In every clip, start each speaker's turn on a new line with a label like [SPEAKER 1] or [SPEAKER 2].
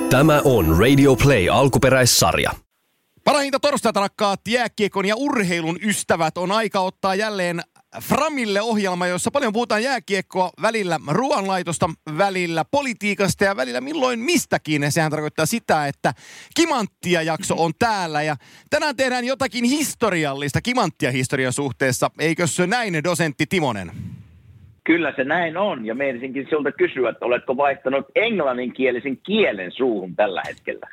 [SPEAKER 1] Tämä on Radio Play alkuperäissarja.
[SPEAKER 2] Parhainta torstaita, rakkaat jääkiekon ja urheilun ystävät, on aika ottaa jälleen Framille ohjelma, jossa paljon puhutaan jääkiekkoa, välillä ruoanlaitosta, välillä politiikasta ja välillä milloin mistäkin. Sehän tarkoittaa sitä, että Kimanttia jakso on täällä ja tänään tehdään jotakin historiallista Kimanttia historiasuhteessa. Eikö se näin, dosentti Timonen?
[SPEAKER 3] Kyllä se näin on, ja meinasinkin sinulta kysyä, että oletko vaihtanut englanninkielisen kielen suuhun tällä hetkellä?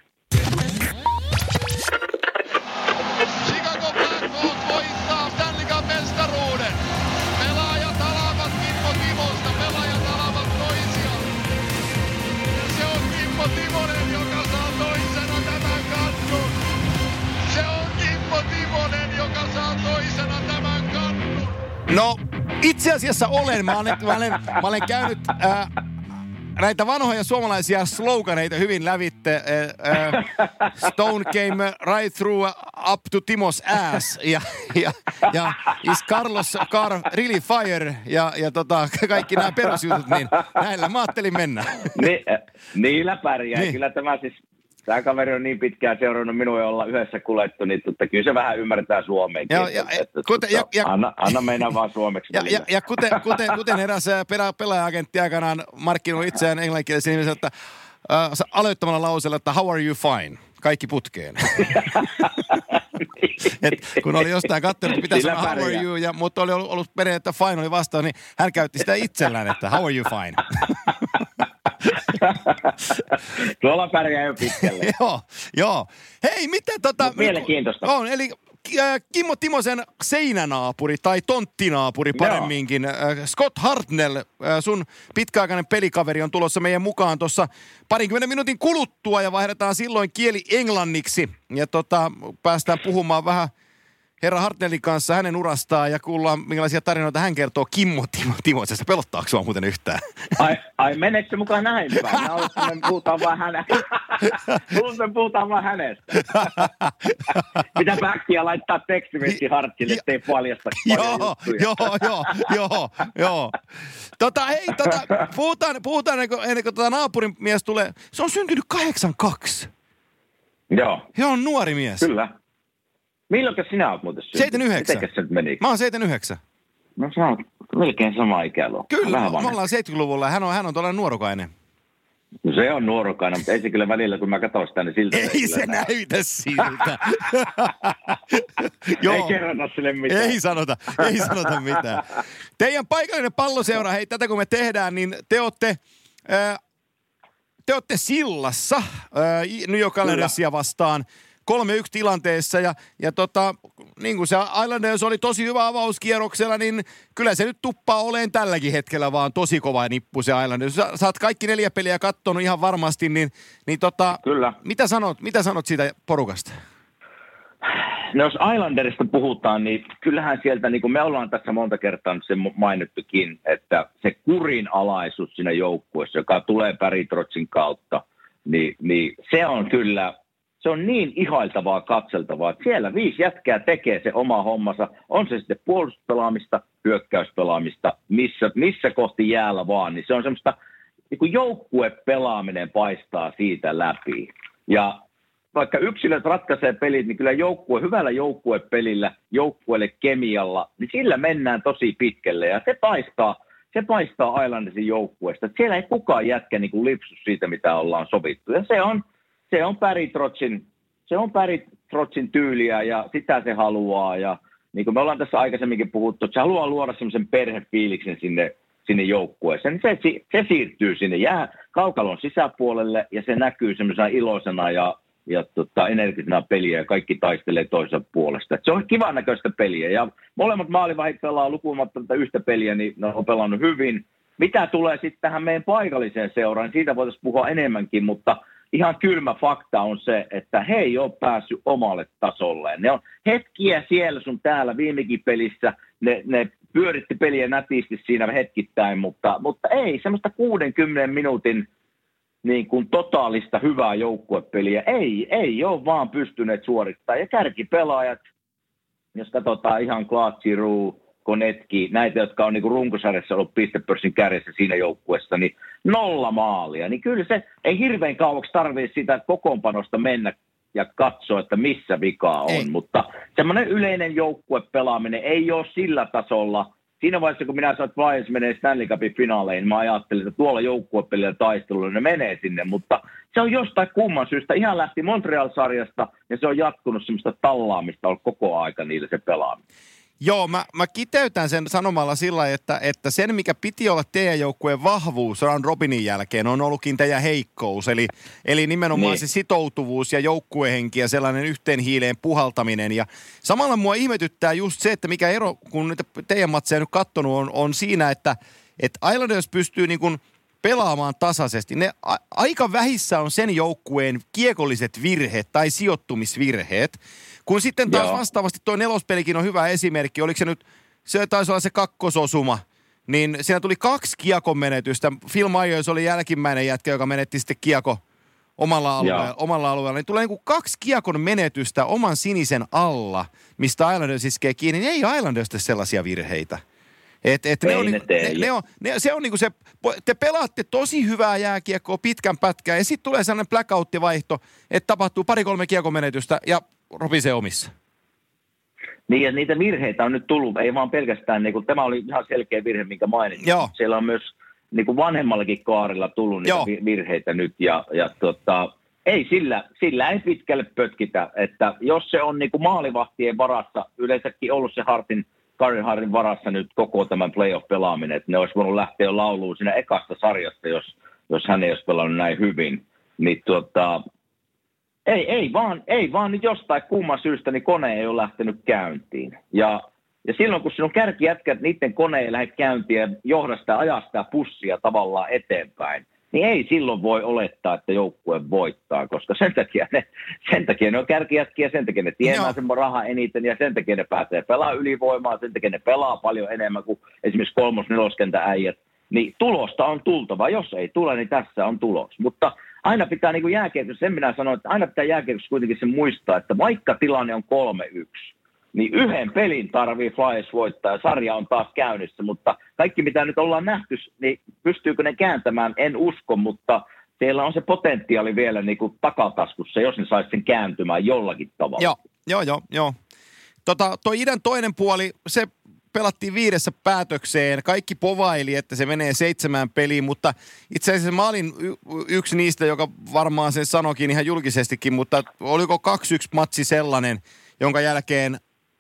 [SPEAKER 4] Chicago Blackhawks voittaa Stanley Cup-mestaruuden. Pelaajat alavat Kimmo Timosta, pelaajat alavat toisiaan. Se on Kimmo Timonen, joka saa toisena tämän kannun. Se on Kimmo Timonen, joka saa toisena tämän kannun.
[SPEAKER 2] No, itse asiassa olen. Mä olen käynyt näitä vanhoja suomalaisia sloganeita hyvin lävitte. Stone came right through up to Timos ass. Ja is Carlos Carr really fire? Ja kaikki nämä perusjutut, niin näillä mä ajattelin mennä.
[SPEAKER 3] Niillä pärjää. Niin. Kyllä tämä kaveri on niin pitkään seurannut minua ja olla yhdessä kuljettu, niin kyllä se vähän ymmärtää suomeenkin. Anna mennä vaan suomeksi.
[SPEAKER 2] Ja kuten eräs pelaaja-agentti aikanaan markkinoi itseään englanninkielisen nimisen, että aloittamalla lauseella, että how are you fine? Kaikki putkeen. Kun oli jostain katsonut, että pitäisi sanoa how are you, mutta oli ollut perhe, että fine oli vastaan, niin hän käytti sitä itsellään, että how are you fine?
[SPEAKER 3] Tuolla pärjää jo pitkälle.
[SPEAKER 2] Joo. Hei, miten
[SPEAKER 3] mielenkiintoista.
[SPEAKER 2] On, eli Kimmo Timosen seinänaapuri tai tonttinaapuri paremminkin. Scott Hartnell, sun pitkäaikainen pelikaveri, on tulossa meidän mukaan tuossa 20 minuutin kuluttua ja vaihdetaan silloin kieli englanniksi. Ja päästään puhumaan vähän herra Hartnellin kanssa hänen urastaan ja kuullaan, minkälaisia tarinoita hän kertoo Kimmo Timosesta. Pelottaako sua muuten yhtään?
[SPEAKER 3] Ai meneekö se mukaan näin päin? Puhutaan vaan hänestä. Pitää backia laittaa tekstiviesti Hartille, ettei paljasta
[SPEAKER 2] Joo. Puhutaan ennen kuin naapurin mies tulee. Se on syntynyt 82.
[SPEAKER 3] Joo.
[SPEAKER 2] He on nuori mies.
[SPEAKER 3] Kyllä. Milloinkas sinä olet muuten syntynyt?
[SPEAKER 2] 79.
[SPEAKER 3] Mitenkäs se nyt meni?
[SPEAKER 2] Mä oon 79.
[SPEAKER 3] No sä oot melkein sama ikäluokka.
[SPEAKER 2] Kyllä, me ollaan 70-luvulla. Hän on tuollainen nuorukainen.
[SPEAKER 3] No se on nuorukainen, mutta ei se kyllä välillä, kun mä katson sitä, niin siltä
[SPEAKER 2] ei se näytä siltä.
[SPEAKER 3] Ei kerrota sille mitään.
[SPEAKER 2] Ei sanota mitään. Teidän paikallinen palloseura, hei, tätä kun me tehdään, niin te ootte sillassa New York Islandersia vastaan 3-1 tilanteessa ja niin kuin se Islanders oli tosi hyvä avauskierroksella, niin kyllä se nyt tuppaa oleen tälläkin hetkellä vaan tosi kova nippu se Islanders. Sä oot kaikki 4 peliä kattonut ihan varmasti, niin
[SPEAKER 3] kyllä.
[SPEAKER 2] Mitä sanot siitä porukasta?
[SPEAKER 3] No jos Islanderista puhutaan, niin kyllähän sieltä, niin kuin me ollaan tässä monta kertaa sen mainittukin, että se kurinalaisuus siinä joukkueessa, joka tulee Barry Trotzin kautta, niin se on kyllä... Se on niin ihailtavaa katseltavaa, että siellä 5 jätkää tekee se oma hommansa. On se sitten puolustuspelaamista, hyökkäyspelaamista, missä kohti jäällä vaan. Niin se on semmoista, niin kuin joukkuepelaaminen paistaa siitä läpi. Ja vaikka yksilöt ratkaisee pelit, niin kyllä hyvällä joukkuepelillä, joukkueelle kemialla, niin sillä mennään tosi pitkälle. Ja se paistaa Islandersin joukkueesta. Siellä ei kukaan jätkä niin kuin lipsu siitä, mitä ollaan sovittu. Ja se on Barry Trotzin tyyliä ja sitä se haluaa. Ja niin kuin me ollaan tässä aikaisemminkin puhuttu, että se haluaa luoda semmoisen perhefiiliksen sinne joukkueeseen. Niin se siirtyy sinne kaukalon sisäpuolelle ja se näkyy semmoisena iloisena ja energisena peliä ja kaikki taistelee toisen puolesta. Et se on kivan näköistä peliä ja molemmat maalivahdit pelaa lukumatta yhtä peliä, niin ne on pelannut hyvin. Mitä tulee sitten tähän meidän paikalliseen seuraan, niin siitä voitaisiin puhua enemmänkin, mutta ihan kylmä fakta on se, että he ei ole päässyt omalle tasolleen. Ne on hetkiä siellä sun täällä viimekin pelissä, ne pyöritti peliä nätisti siinä hetkittäin, mutta ei semmoista 60 minuutin niin kuin totaalista hyvää joukkuepeliä. Ei ole vaan pystyneet suorittamaan. Ja kärkipelaajat, jos katsotaan ihan Claude Giroux, Konetki, näitä, jotka on niin kuin runkosarjassa ollut pistepörssin kärjessä siinä joukkueessa, niin 0 maalia. Niin kyllä se ei hirveän kauaksi tarvitse sitä kokoonpanosta mennä ja katsoa, että missä vikaa on.
[SPEAKER 2] Ei.
[SPEAKER 3] Mutta semmoinen yleinen joukkuepelaaminen ei ole sillä tasolla. Siinä vaiheessa, kun minä sanoin, että Flyers menee Stanley Cupin finaaleihin, mä ajattelin, että tuolla joukkuepelillä taistelulla ne menee sinne, mutta se on jostain kumman syystä. Ihan lähti Montreal-sarjasta ja se on jatkunut semmoista tallaamista ollut koko aika niille se pelaaminen.
[SPEAKER 2] Joo, mä kiteytän sen sanomalla sillä, että sen, mikä piti olla teidän joukkueen vahvuus round robinin jälkeen, on ollutkin teidän heikkous. Eli nimenomaan
[SPEAKER 3] niin.
[SPEAKER 2] Se sitoutuvuus ja joukkuehenki ja sellainen yhteen hiileen puhaltaminen. Ja samalla mua ihmetyttää just se, että mikä ero, kun niitä teidän matseja nyt katsonut, on siinä, että Islanders pystyy niin kuin pelaamaan tasaisesti. Ne aika vähissä on sen joukkueen kiekolliset virheet tai sijoittumisvirheet. Kun sitten taas vastaavasti tuo nelospelikin on hyvä esimerkki. Oliko se nyt, se taisi olla se kakkososuma, niin siinä tuli 2 kiekon menetystä. Phil Myers oli jälkimmäinen jätkä, joka menetti sitten kiekko omalla alueella. Niin tulee niin kuin 2 kiekon menetystä oman sinisen alla, mistä Islanders iskee kiinni. Niin ei Islanders tee sellaisia virheitä. Se on niinku se, te pelaatte tosi hyvää jääkiekkoa pitkän pätkää ja sitten tulee sellainen blackout-vaihto, että tapahtuu 2-3 kiekon menetystä ja ropisee omissa.
[SPEAKER 3] Niin ja niitä virheitä on nyt tullut, ei vaan pelkästään, niin kuin, tämä oli ihan selkeä virhe, minkä mainitsin.
[SPEAKER 2] Joo.
[SPEAKER 3] Siellä on myös niin kuin vanhemmallakin kaarilla tullut niitä virheitä nyt ja ei sillä ei pitkälle pötkitä, että jos se on niin kuin maalivahtien varassa, yleensäkin ollut se Carey Hartin varassa nyt koko tämän playoff-pelaaminen, että ne olisi voinut lähteä jo lauluun siinä ekasta sarjasta, jos hän ei olisi pelannut näin hyvin. Niin ei vaan nyt jostain kumman syystä niin kone ei ole lähtenyt käyntiin. Ja silloin kun sinun kärkijätkät, niiden kone ei lähde käyntiin ja johda sitä ajaa sitä pussia tavallaan eteenpäin, niin ei silloin voi olettaa, että joukkue voittaa, koska sen takia ne on kärkijätkiä, sen takia ne tienaa sen rahaa eniten ja sen takia ne pääsee pelaa ylivoimaa, sen takia ne pelaa paljon enemmän kuin esimerkiksi 3-4 äijät. Niin tulosta on tultava, jos ei tule, niin tässä on tulos. Mutta aina pitää niin kuin jääkiekossa, sen minä sanon, että aina pitää jääkiekossa kuitenkin se muistaa, että vaikka tilanne on 3-1, niin yhden pelin tarvii Flyers voittaa ja sarja on taas käynnissä, mutta kaikki mitä nyt ollaan nähty, niin pystyykö ne kääntämään, en usko, mutta siellä on se potentiaali vielä niin kuin takataskussa, jos ne saisi sen kääntymään jollakin tavalla.
[SPEAKER 2] Joo. Toi idän toinen puoli, se pelattiin 5 päätökseen. Kaikki povaili, että se menee 7 peliin, mutta itse asiassa mä olin yksi niistä, joka varmaan sen sanoikin ihan julkisestikin, mutta oliko 2-1 matsi sellainen, jonka jälkeen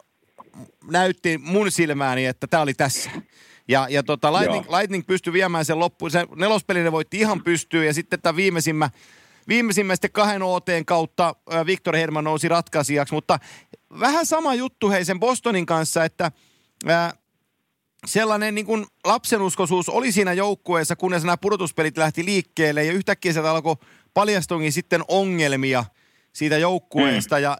[SPEAKER 2] näytti mun silmääni, että tämä oli tässä. Ja Lightning pystyi viemään sen loppuun. Se nelospeli ne voitti ihan pystyyn ja sitten tämä viimeisimmä sitten 2 OT:n kautta Victor Hedman nousi ratkaisijaksi. Mutta vähän sama juttu sen Bostonin kanssa, että sellainen niin kuin lapsenuskoisuus oli siinä joukkueessa, kunnes nämä pudotuspelit lähti liikkeelle ja yhtäkkiä sieltä alkoi paljastuinkin sitten ongelmia siitä joukkueesta ja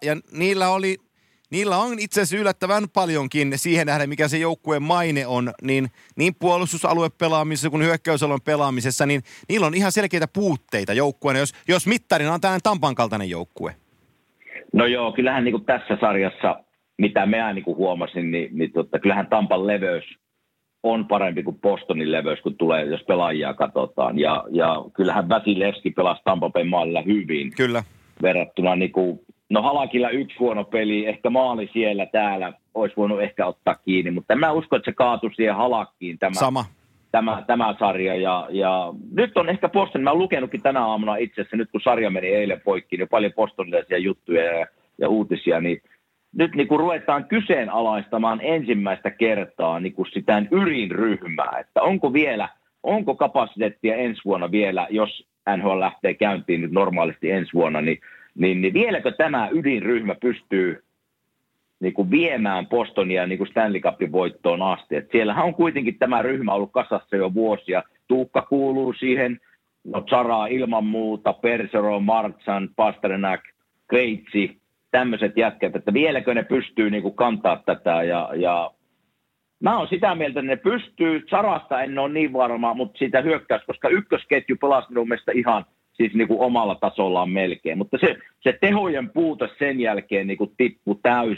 [SPEAKER 2] niillä on itse asiassa yllättävän paljonkin siihen nähden, mikä se joukkueen maine on, niin puolustusaluepelaamisessa kuin hyökkäysalueen pelaamisessa, niin niillä on ihan selkeitä puutteita joukkueena, jos mittarina on tällainen Tampan kaltainen joukkue.
[SPEAKER 3] No joo, kyllähän niin kuin tässä sarjassa, mitä minä niin kuin huomasin, niin kyllähän Tampan leveys on parempi kuin Bostonin leveys, kun tulee, jos pelaajia katsotaan. Ja kyllähän Vasilevski pelasi Tampa Bayn maalilla hyvin.
[SPEAKER 2] Kyllä.
[SPEAKER 3] Verrattuna niin kuin, no Halakilla 1 huono peli, ehkä maali siellä täällä olisi voinut ehkä ottaa kiinni, mutta mä uskon, että se kaatui siihen Halakkiin tämä sarja. Ja nyt on ehkä Boston, mä oon lukenutkin tänä aamuna itse asiassa, nyt kun sarja meni eilen poikki, niin paljon bostonilaisia juttuja ja uutisia, niin nyt niin kuin ruvetaan kyseenalaistamaan ensimmäistä kertaa niin kuin sitä ydinryhmää, että onko kapasiteettia ensi vuonna vielä, jos NHL lähtee käyntiin nyt normaalisti ensi vuonna, niin vieläkö tämä ydinryhmä pystyy niin kuin viemään Bostonia niin kuin Stanley Cupin voittoon asti. Et siellähän on kuitenkin tämä ryhmä ollut kasassa jo vuosia. Tuukka kuuluu siihen, no Zara ilman muuta, Persero, Marchand, Pasternak, Kreitsi, tämmöiset jätkät, että vieläkö ne pystyy niin kuin kantaa tätä ja mä oon sitä mieltä, että ne pystyy. Zarasta en ole niin varma, mutta siitä hyökkäys, koska ykkösketju pelasi minun mielestä ihan siis niin kuin omalla tasollaan melkein. Mutta se tehojen puute sen jälkeen niin kuin tippui täysin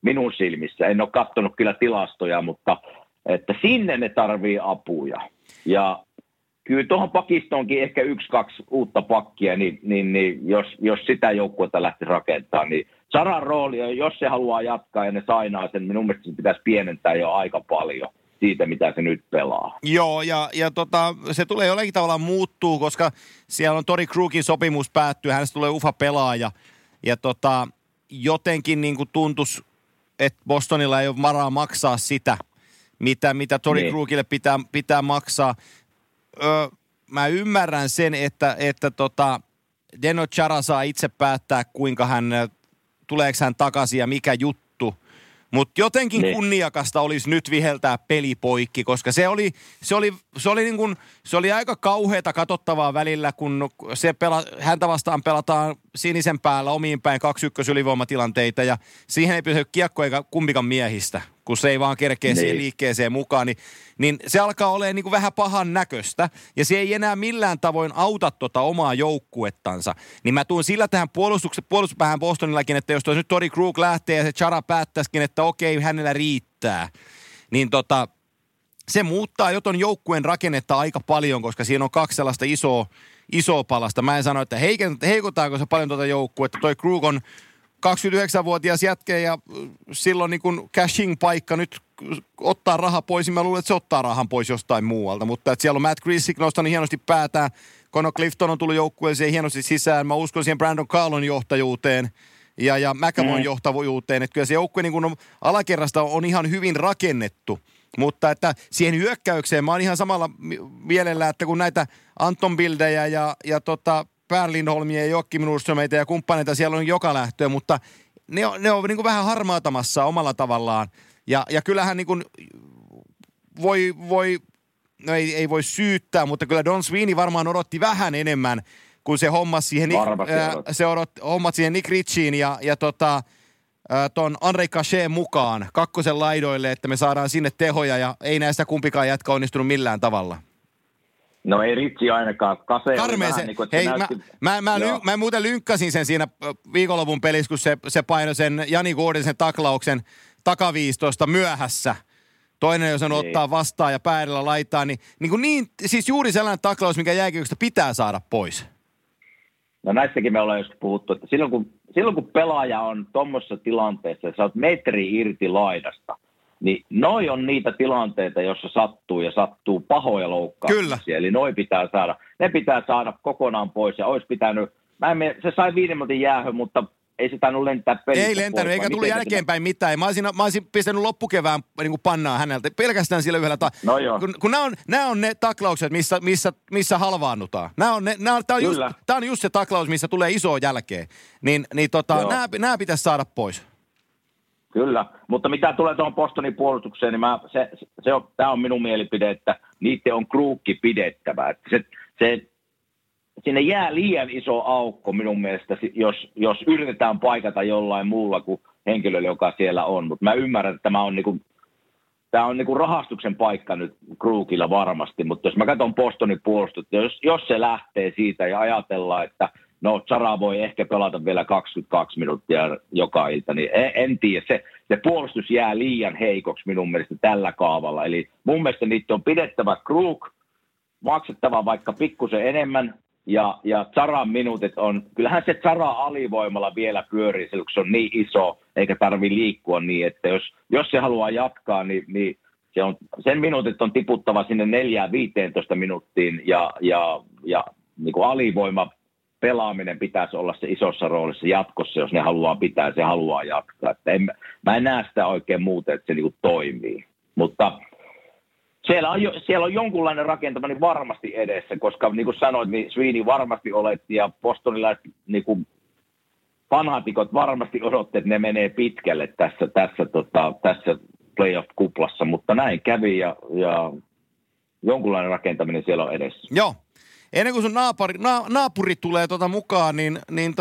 [SPEAKER 3] minun silmissä. En ole katsonut kyllä tilastoja, mutta että sinne ne tarvii apuja. Ja kyllä tuohon pakistoonkin ehkä 1-2 uutta pakkia, niin jos sitä joukkuetta lähti rakentamaan, niin Zaran rooli, jos se haluaa jatkaa ja ne sainaa sen, minun mielestä se pitäisi pienentää jo aika paljon siitä, mitä se nyt pelaa.
[SPEAKER 2] Joo, ja se tulee jollakin tavalla muuttuu, koska siellä on Torrey Krugin sopimus päättyy, hänestä tulee UFA-pelaaja, ja jotenkin niin kuin tuntuisi, että Bostonilla ei ole varaa maksaa sitä, mitä Torrey Krugille pitää maksaa. Mä ymmärrän sen, että Zdeno Chara saa itse päättää, kuinka tuleeko hän takaisin ja mikä juttu. Mutta jotenkin kunniakasta olisi nyt viheltää peli poikki, koska se oli aika kauheata katsottavaa välillä, kun häntä vastaan pelataan sinisen päällä omiin päin 2-1 ylivoimatilanteita ja siihen ei pysy kiekko eikä kumpikaan miehistä, kun se ei vaan kerkeä siihen liikkeeseen mukaan, niin se alkaa olemaan niin kuin vähän pahan näköistä ja se ei enää millään tavoin auta omaa joukkuettansa. Niin mä tuun sillä tähän puolustuspäähän Bostonillakin, että jos nyt Torrey Krug lähtee ja se Chara päättäisikin, että okei, hänellä riittää, niin se muuttaa jo ton joukkueen rakennetta aika paljon, koska siinä on 2 sellaista isoa palasta. Mä en sano, että heikotaanko se paljon joukkuetta. Toi Krug on 29-vuotias jätkä ja silloin niin kun cashing-paikka nyt ottaa raha pois, niin mä luulen, että se ottaa rahan pois jostain muualta. Mutta että siellä on Matt Grisick nostanut hienosti päätään, Connor Clifton on tullut joukkueeseen hienosti sisään. Mä uskon siihen Brandon Carlon johtajuuteen ja McAvoyn johtavuuteen. Että kyllä se joukkue niin kun alakerrasta on ihan hyvin rakennettu. Mutta että siihen hyökkäykseen mä oon ihan samalla mielellä, että kun näitä Anton Bildejä ja Per Lindholmia ja Joakim Nordströmeitä ja kumppaneita siellä on joka lähtöä, mutta ne on niin kuin vähän harmaatamassa omalla tavallaan. Ja kyllähän niin kuin no ei voi syyttää, mutta kyllä Don Sweeney varmaan odotti vähän enemmän, kun se hommasi siihen Nick Ritchiin ja ton Andrei Cachet mukaan 2 laidoille, että me saadaan sinne tehoja ja ei näistä kumpikaan jätkä onnistunut millään tavalla.
[SPEAKER 3] No ei Ritsi ainakaan.
[SPEAKER 2] Karmeeseen. Niin hei, mä muuten lynkkasin sen siinä viikonlopun pelissä, kun se painoi sen Jani Gordisen taklauksen takaviistosta myöhässä. Toinen, jos sen ottaa vastaan ja päädellä laittaa, niin siis juuri sellainen taklaus, mikä jääkiekosta pitää saada pois.
[SPEAKER 3] No näistäkin me ollaan joskus puhuttu, että silloin kun pelaaja on tuommoisessa tilanteessa, että sä oot metri irti laidasta, niin noi on niitä tilanteita, joissa sattuu pahoja loukkauksia. Kyllä. Eli ne pitää saada kokonaan pois ja olisi pitänyt, se sai 5 minuutin jäähön, mutta ei se tainnut lentää pelistä. Ei lentänyt,
[SPEAKER 2] eikä tullut jälkeenpäin mitään. Mä olisin pistänyt loppukevään niin pannaa häneltä, pelkästään sillä yhdellä
[SPEAKER 3] No joo.
[SPEAKER 2] Kun nämä on ne taklaukset, missä halvaannutaan. Tämä on just se taklaus, missä tulee isoa jälkeen. Nämä pitäisi saada pois. Kyllä, mutta mitä tulee tuohon Bostonin puolustukseen, niin tämä on minun mielipide, että niiden on Krugki pidettävä. Että sinne jää liian iso aukko minun mielestä, jos yritetään paikata jollain muulla kuin henkilöllä, joka siellä on. Mutta mä ymmärrän, että tämä on niinku rahastuksen paikka nyt Krugilla varmasti, mutta jos mä katson Bostonin puolustusta, jos se lähtee siitä ja ajatellaan, että Chara voi ehkä pelata vielä 22 minuuttia joka ilta, niin en tiedä. Se puolustus jää liian heikoksi minun mielestä tällä kaavalla. Eli mun mielestä niitä on pidettävä Krug, maksettava vaikka pikkusen enemmän, ja Charan minuutit on, kyllähän se Chara alivoimalla vielä pyörii, kun se on niin iso, eikä tarvitse liikkua niin, että jos se haluaa jatkaa, niin sen minuutit on tiputtava sinne 4-15 minuuttiin, ja niin kuin alivoima pelaaminen pitäisi olla se isossa roolissa jatkossa, jos ne haluaa pitää, se haluaa jatkaa. Että mä en näe sitä oikein muuten, että se niin kuin toimii. Mutta siellä on jonkunlainen rakentaminen varmasti edessä, koska niin kuin sanoit, niin Sweeney varmasti oletti ja bostonilaiset niin kuin fanaatikot varmasti odotti, että ne menee pitkälle tässä playoff-kuplassa, mutta näin kävi ja jonkunlainen rakentaminen siellä on edessä. Joo. Ennen kuin sun naapuri tulee mukaan, niin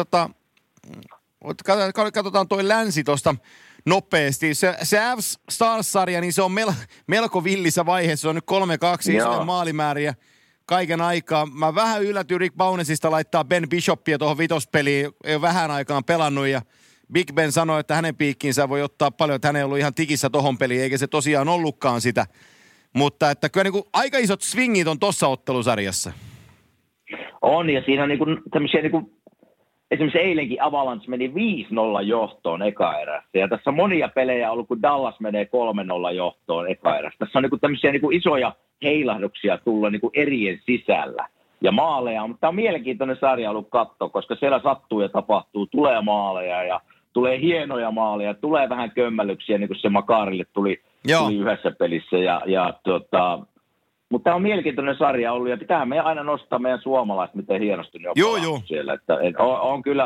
[SPEAKER 2] katsotaan toi länsi tuosta nopeasti. Se F-Stars-sarja, niin se on melko villissä vaiheessa. Se on nyt 3-2 isoja maalimääriä kaiken aikaa. Mä vähän yllätyin Rick Baunesista laittaa Ben Bishopia tuohon vitospeliin. Ei ole vähän aikaan pelannut ja Big Ben sanoi, että hänen piikkiinsä voi ottaa paljon, että hän ei ollut ihan tikissä tohon peliin, eikä se tosiaan ollutkaan sitä. Mutta että kyllä niin kuin aika isot swingit on tuossa ottelusarjassa.
[SPEAKER 3] On, ja siinä on niin kuin tämmöisiä, niin kuin, esimerkiksi eilenkin Avalanche meni 5-0 johtoon eka-erässä. Ja tässä on monia pelejä ollut, kun Dallas menee 3-0 johtoon eka-erässä. Tässä on niin kuin tämmöisiä niin kuin isoja heilahduksia tulla niin kuin erien sisällä ja maaleja. Mutta tämä on mielenkiintoinen sarja ollut katsoa, koska siellä sattuu ja tapahtuu, tulee maaleja ja tulee hienoja maaleja, tulee vähän kömmälyksiä, niin kuin se Makarille tuli yhdessä pelissä. Mutta tämä on mielenkiintoinen sarja ollut, ja pitää meidän aina nostaa meidän suomalaiset, miten hienosti ne on siellä. Että on kyllä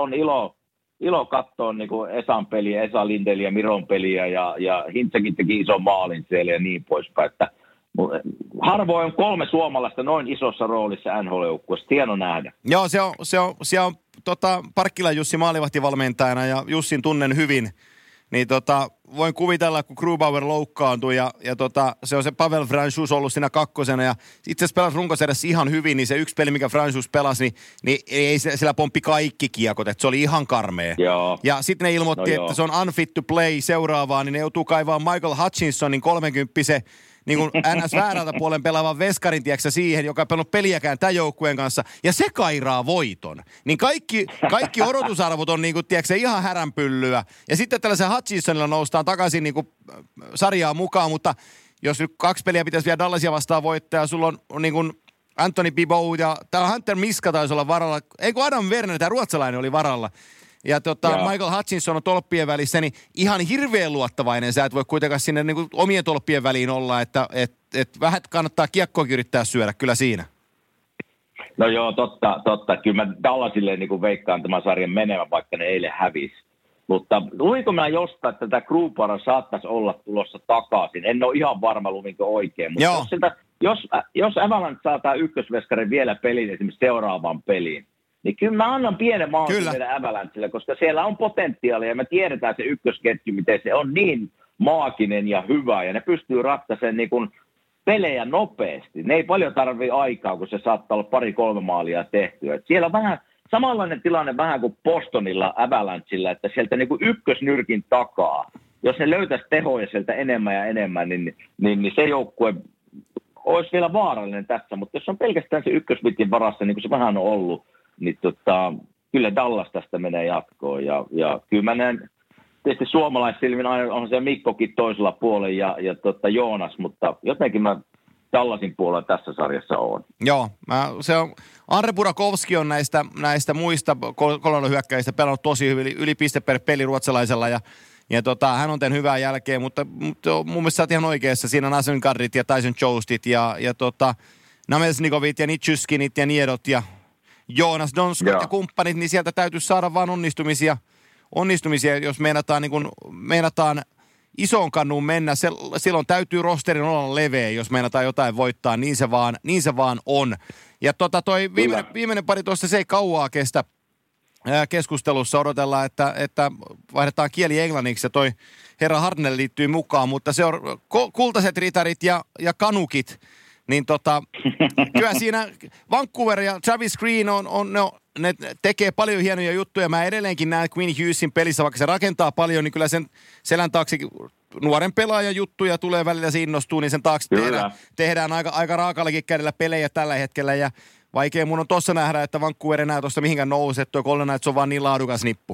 [SPEAKER 3] ilo katsoa niin kuin Esan peliä, Esa Lindeliä ja Miron peliä, ja Hintsäkin teki ison maalin siellä ja niin poispäin. Että harvoin on 3 suomalaista noin isossa roolissa NHL-joukkueessa. Hieno nähdä.
[SPEAKER 2] Joo, se on Parkkilan Jussi maalivahtivalmentajana, ja Jussin tunnen hyvin. Niin voin kuvitella, kun Grubauer loukkaantui ja se on se Pavel Franchus ollut siinä kakkosena ja itse asiassa pelasi runkosarjassa ihan hyvin, niin se yksi peli, mikä Franchus pelasi, niin ei sillä pomppi kaikki kiekot, että se oli ihan karmea.
[SPEAKER 3] Joo.
[SPEAKER 2] Ja sitten ne ilmoitti, että se on unfit to play seuraavaan, niin ne joutuu kaivaamaan Michael Hutchinsonin 30 niin kuin NS väärältä puolen pelaavan veskarin, tiedätkö, siihen, joka ei pelannut peliäkään tämän joukkueen kanssa, ja se kairaa voiton. Niin kaikki odotusarvot on niin kuin, tiedätkö, ihan häränpyllyä. Ja sitten tällaisen Hutchinsonilla noustaan takaisin niin kuin sarjaan mukaan, mutta jos nyt 2 peliä pitäisi vielä Dallasia vastaan voittaa, ja sulla on niin kuin Anthony Bibeau ja tämä Hunter Miska taisi olla varalla, ei kun Adam Werner, tämä ruotsalainen oli varalla. Ja Michael Hutchinson on tolppien välissä, niin ihan hirveän luottavainen. Sä et voi kuitenkaan sinne niin kuin omien tolppien väliin olla, että vähän kannattaa kiekkoakin yrittää syödä kyllä siinä.
[SPEAKER 3] No joo, totta. Kyllä mä Dallasille niin kuin veikkaan tämän sarjan menemään, vaikka ne eilen hävisi. Mutta luinko mä jostain, että tätä Grubauer saattaisi olla tulossa takaisin? En ole ihan varma, luvinko oikein. Mutta jos Avalanche saa tämä ykkösveskarin vielä pelin, esimerkiksi seuraavaan peliin, niin kyllä mä annan pienen mahdollisuuden meidän Avalanchelle, koska siellä on potentiaalia ja me tiedetään se ykkösketju, miten se on niin maaginen ja hyvä ja ne pystyy ratkaisemaan niin kuin pelejä nopeasti. Ne ei paljon tarvitse aikaa, kun se saattaa olla 2-3 maalia tehtyä. Et siellä on vähän samanlainen tilanne vähän kuin Bostonilla Avalanchella, että sieltä niin kuin ykkösnyrkin takaa, jos ne löytäisi tehoja sieltä enemmän ja enemmän, niin se joukkue olisi vielä vaarallinen tässä, mutta jos on pelkästään se ykkösvitin varassa, niin kuin se vähän on ollut, niin kyllä Dallas tästä menee jatkoon. Ja kyllä mä näen, tietysti suomalaissilmin aina on se Mikkokin toisella puolella ja Joonas, mutta jotenkin mä Dallasin puolella tässä sarjassa on.
[SPEAKER 2] Joo, se on, Andre Burakovski on näistä muista kolonnohyökkäistä pelannut tosi hyvin, yli piste per peli ruotsalaisella ja hän on tehnyt hyvää jälkeä, mutta mun mielestä sä oot ihan oikeassa. Siinä on Asenkardit ja Tyson Joestit ja Namesnikovit ja Nitschyskinit ja Niedot ja Joonas Donskot ja kumppanit, niin sieltä täytyisi saada vaan onnistumisia, jos meinataan isoon kannuun mennä. Silloin täytyy rosterin olla leveä, jos meinataan jotain voittaa, niin se vaan on. Ja toi viimeinen pari tuossa, se ei kauaa kestä keskustelussa. Odotellaan, että vaihdetaan kieli englanniksi ja toi herra Hartnell liittyy mukaan, mutta se on kultaiset ritarit ja kanukit. Niin kyllä siinä Vancouver ja Travis Green ne tekee paljon hienoja juttuja. Mä edelleenkin näen Quinn Hughesin pelissä, vaikka se rakentaa paljon, niin kyllä sen selän taakse nuoren pelaajan juttuja tulee välillä, se innostuu, niin sen taakse tehdään aika raakallakin kädellä pelejä tällä hetkellä. Ja vaikea mun on tossa nähdä, että Vancouver enää tuosta mihinkään nousee, että tuo Golden Knights on vaan niin laadukas nippu.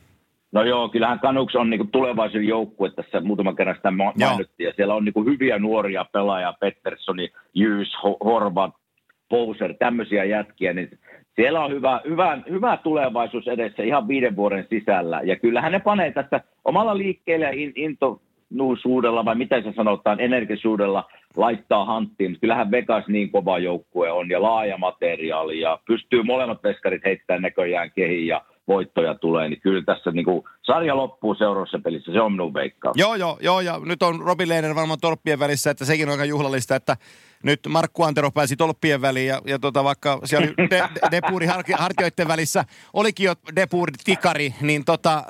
[SPEAKER 2] No
[SPEAKER 3] joo, kyllähän Canucks on niinku tulevaisuuden joukkue, tässä muutaman kerran sitä mainittiin, ja siellä on niinku hyviä nuoria pelaajia, Petterssoni, Hughes, Horvat, Bowser, tämmöisiä jätkiä, niin siellä on hyvä tulevaisuus edessä ihan 5 vuoden sisällä, ja kyllähän ne panee tässä omalla liikkeellä ja intonuusuudella, vai miten se sanotaan, energisuudella laittaa hanttiin, mutta kyllähän Vegas niin kova joukkue on, ja laaja materiaali, ja pystyy molemmat veskarit heittämään näköjään kehiin, ja voittoja tulee, niin kyllä tässä niin kuin sarja loppuu seuraavassa pelissä, se on minun veikkaus.
[SPEAKER 2] Joo, ja nyt on Robin Lehner varmaan tolppien välissä, että sekin on aika juhlallista, että nyt Markku Antero pääsi tolppien väliin, ja vaikka siellä oli Depuuri hartioiden välissä, olikin jo Depuuri tikari, niin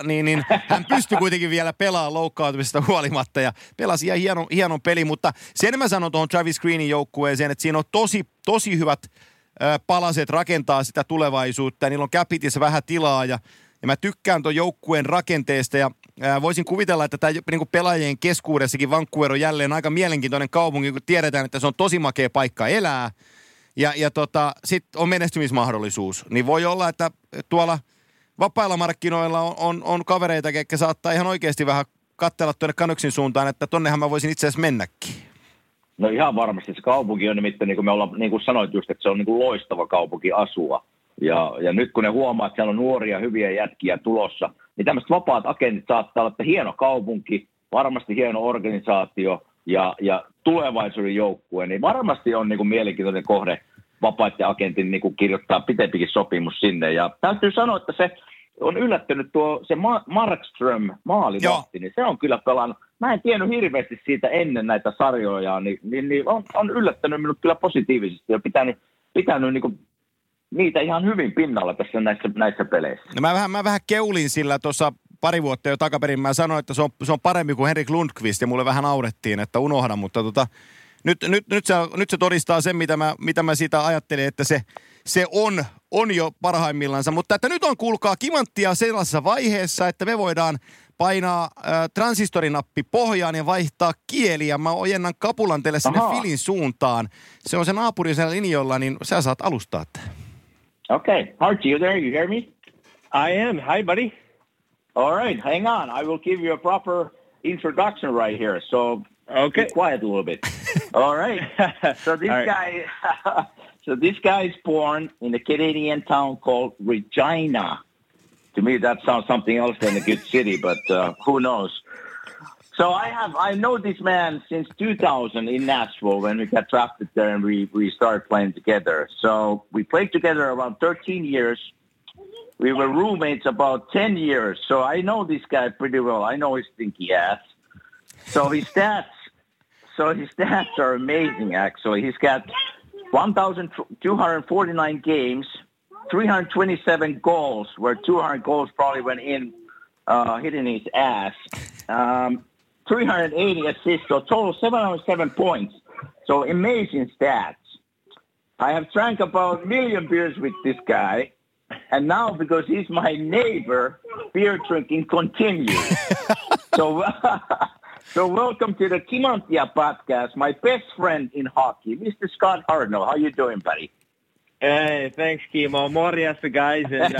[SPEAKER 2] hän pystyi kuitenkin vielä pelaamaan loukkaantumisesta huolimatta, ja pelasi ihan hienon peli, mutta sen mä sanon tuohon Travis Greenin joukkueeseen, että siinä on tosi hyvät palaset rakentaa sitä tulevaisuutta, ja niillä on capitissa vähän tilaa, ja Ja mä tykkään ton joukkueen rakenteesta ja voisin kuvitella, että tämä niin pelaajien keskuudessakin Vancouver on jälleen aika mielenkiintoinen kaupunki, kun tiedetään, että se on tosi makea paikka elää. Ja sitten on menestymismahdollisuus. Niin voi olla, että tuolla vapailla markkinoilla on kavereita, jotka saattaa ihan oikeasti vähän katsella tuonne Canucksin suuntaan, että tonnehan mä voisin itse asiassa mennäkin.
[SPEAKER 3] No ihan varmasti. Se kaupunki on nimittäin, niin kuin me ollaan, niin kuin sanoit just, että se on niin kuin loistava kaupunki asua. Ja nyt kun ne huomaa, että siellä on nuoria, hyviä jätkiä tulossa, niin tämmöiset vapaat agentit saattaa olla, että hieno kaupunki, varmasti hieno organisaatio ja tulevaisuuden joukkue, niin varmasti on niin kuin mielenkiintoinen kohde vapaiden agentin niin kuin kirjoittaa pitempikin sopimus sinne. Ja täytyy sanoa, että se on yllättynyt se Markström maalivahti, niin se on kyllä pelannut. Mä en tiennyt hirveästi siitä ennen näitä sarjoja, niin on yllättänyt minut kyllä positiivisesti ja pitänyt niin kuin niitä ihan hyvin pinnalla tässä näissä peleissä. No
[SPEAKER 2] mä vähän keulin sillä tuossa pari vuotta jo takaperin. Mä sanoin, että se on parempi kuin Henrik Lundqvist ja mulle vähän naurettiin, että unohda, mutta nyt se todistaa sen, mitä mä siitä ajattelin, että se on jo parhaimmillansa. Mutta että nyt on, kuulkaa, kimanttia sellaisessa vaiheessa, että me voidaan painaa transistorinappi pohjaan ja vaihtaa kieliä. Mä ojennan kapulan teille sinne Filin suuntaan. Se on se naapuri siellä linjoilla, niin sä saat alustaa tämän.
[SPEAKER 3] Okay. Archie, you there? You hear me?
[SPEAKER 5] I am. Hi, buddy.
[SPEAKER 3] All right. Hang on. I will give you a proper introduction right here. So
[SPEAKER 5] okay.
[SPEAKER 3] Be quiet a little bit. All right. So this guy is born in a Canadian town called Regina. To me, that sounds something else than a good city, but who knows? So I know this man since 2000 in Nashville when we got drafted there and we started playing together. So we played together around 13 years. We were roommates about 10 years. So I know this guy pretty well. I know his stinky ass. So his stats are amazing, actually. He's got 1,249 games, 327 goals, where 200 goals probably went in, hitting his ass. 380 assists, so total 707 points. So amazing stats. I have drank about 1 million beers with this guy. And now, because he's my neighbor, beer drinking continues. So welcome to the Kimanttia podcast, my best friend in hockey, Mr. Scott Hartnell. How you doing, buddy?
[SPEAKER 5] Hey, thanks, Kimo. Morjesta, guys. And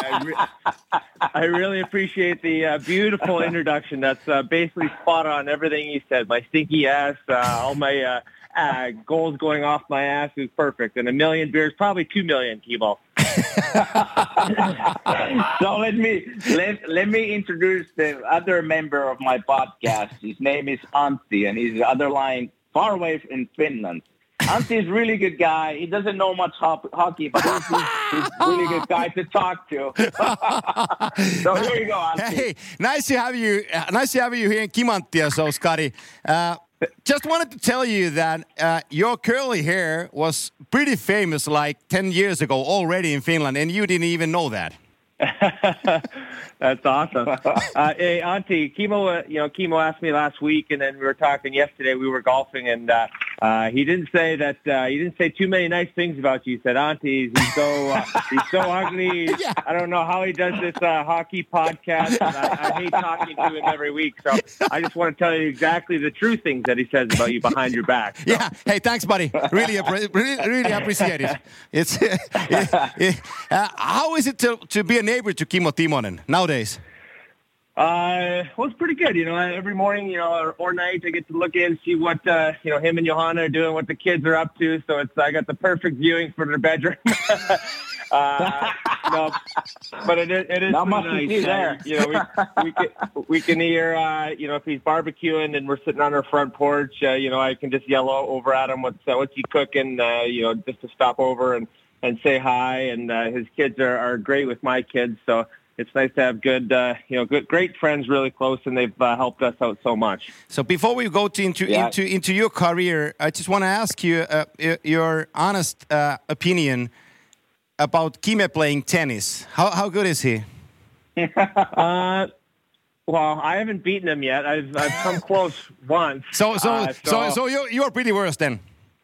[SPEAKER 5] I really appreciate the beautiful introduction. That's basically spot on everything you said. My stinky ass, all my goals going off my ass is perfect. And 1 million beers, probably 2 million, Kimo.
[SPEAKER 3] So let me introduce the other member of my podcast. His name is Antti, and he's the other line far away in Finland. Antti is a really good guy. He doesn't know much hockey, but he's a really good guy to talk to. So here you go, Antti.
[SPEAKER 2] Hey, nice to have you. Nice to have you here in Kimanttia, so Scotty. Just wanted to tell you that your curly hair was pretty famous like 10 years ago already in Finland, and you didn't even know that.
[SPEAKER 5] That's awesome. Hey, Antti, Kimo asked me last week, and then we were talking yesterday. We were golfing, and he didn't say too many nice things about you. He said, Antti, he's so ugly. Yeah. I don't know how he does this hockey podcast. And I hate talking to him every week. So I just want to tell you exactly the true things that he says about you behind your back. So.
[SPEAKER 2] Yeah. Hey, thanks, buddy. Really appreciate it. It's how is it to be a neighbor to Kimmo Timonen nowadays?
[SPEAKER 5] Well, it's pretty good. Every morning, or night, I get to look in, see what, him and Johanna are doing, what the kids are up to. So I got the perfect viewing for their bedroom. No, but it is
[SPEAKER 3] not much
[SPEAKER 5] nice.
[SPEAKER 3] To see there.
[SPEAKER 5] We can hear, if he's barbecuing and we're sitting on our front porch, I can just yell over at him, what's he cooking, just to stop over and say hi. And his kids are great with my kids, so it's nice to have great friends really close, and they've helped us out so much.
[SPEAKER 2] So before we go into your career, I just want to ask you your honest opinion about Kime playing tennis. How good is he?
[SPEAKER 5] Well, I haven't beaten him yet. I've come close once.
[SPEAKER 2] So you're pretty worse then.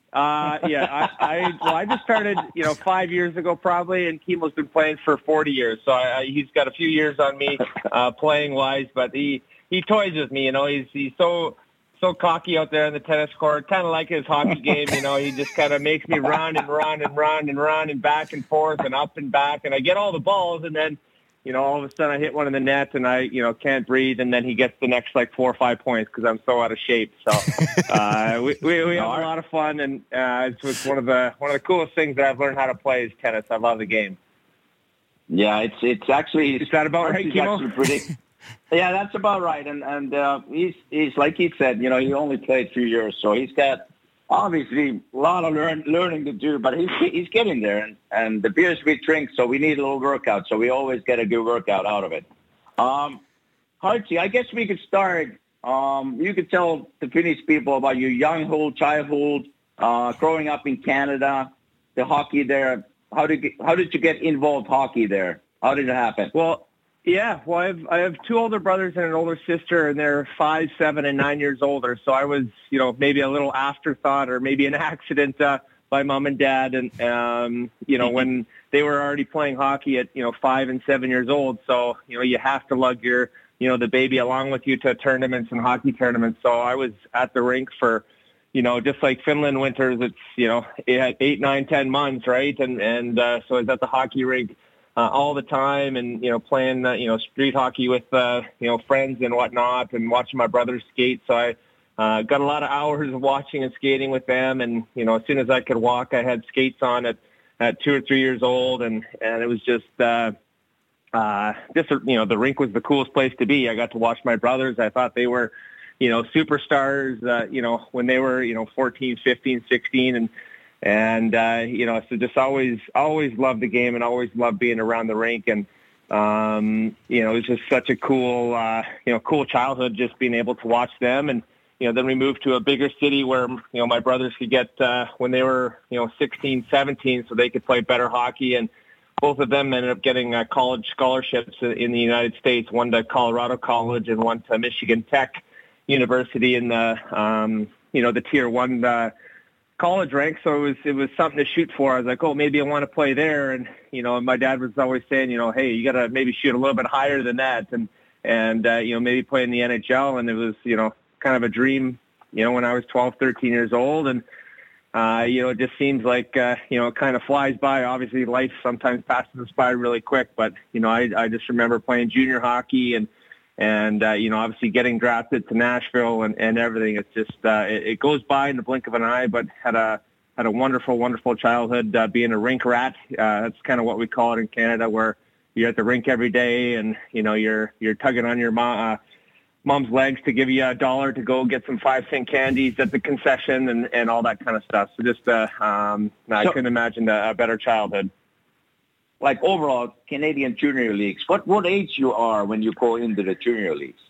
[SPEAKER 5] I just started, 5 years ago probably, and Kimo's been playing for 40 years. So he's got a few years on me playing wise, but he toys with me. He's so cocky out there on the tennis court, kind of like his hockey game. He just kind of makes me run and back and forth and up and back, and I get all the balls, and then all of a sudden I hit one in the net and I, can't breathe, and then he gets the next 4 or 5 points because I'm so out of shape. So we have a lot of fun, and it's one of the coolest things that I've learned how to play is tennis. I love the game.
[SPEAKER 3] Yeah, it's actually.
[SPEAKER 5] Is that about right, Kimo?
[SPEAKER 3] Yeah, that's about right. And he's like he said, he only played 2 years, so he's got obviously a lot of learning to do, but he's getting there. And the beers we drink, so we need a little workout, so we always get a good workout out of it. Hartzi, I guess we could start. You could tell the Finnish people about your young childhood, growing up in Canada, the hockey there. How did you get involved hockey there? How did it happen?
[SPEAKER 5] Well, I have 2 older brothers and an older sister, and they're 5, 7, and 9 years older. So I was, maybe a little afterthought or maybe an accident by mom and dad. And, when they were already playing hockey at, 5 and 7 years old. So, you have to lug your, the baby along with you to tournaments and hockey tournaments. So I was at the rink for, just like Finland winters, it's, it had 8, 9, 10 months, right? And so I was at the hockey rink all the time, and playing street hockey with friends and whatnot, and watching my brothers skate. So I got a lot of hours of watching and skating with them, and as soon as I could walk, I had skates on at 2 or 3 years old, and it was just the rink was the coolest place to be. I got to watch my brothers. I thought they were superstars when they were 14, 15, 16, so just always loved the game and always loved being around the rink. And, it was just such a cool childhood, just being able to watch them. And, then we moved to a bigger city where, my brothers could get, when they were, 16, 17, so they could play better hockey. And both of them ended up getting college scholarships in the United States, one to Colorado College and one to Michigan Tech University in the Tier 1, college rank, so it was something to shoot for. I was like, maybe I want to play there, and my dad was always saying, hey, you got to maybe shoot a little bit higher than that, and maybe play in the NHL. And it was kind of a dream, when I was 12, 13 years old, and it just seems like it kind of flies by. Obviously, life sometimes passes us by really quick, but I just remember playing junior hockey and obviously getting drafted to Nashville and everything. It's just, it goes by in the blink of an eye, but had a wonderful, wonderful childhood, being a rink rat. That's kind of what we call it in Canada, where you're at the rink every day and, you're tugging on your mom's legs to give you $1 to go get some 5-cent candies at the concession and all that kind of stuff. So just, I couldn't imagine a better childhood.
[SPEAKER 3] Like overall Canadian junior leagues, what age you are when you go into the junior leagues?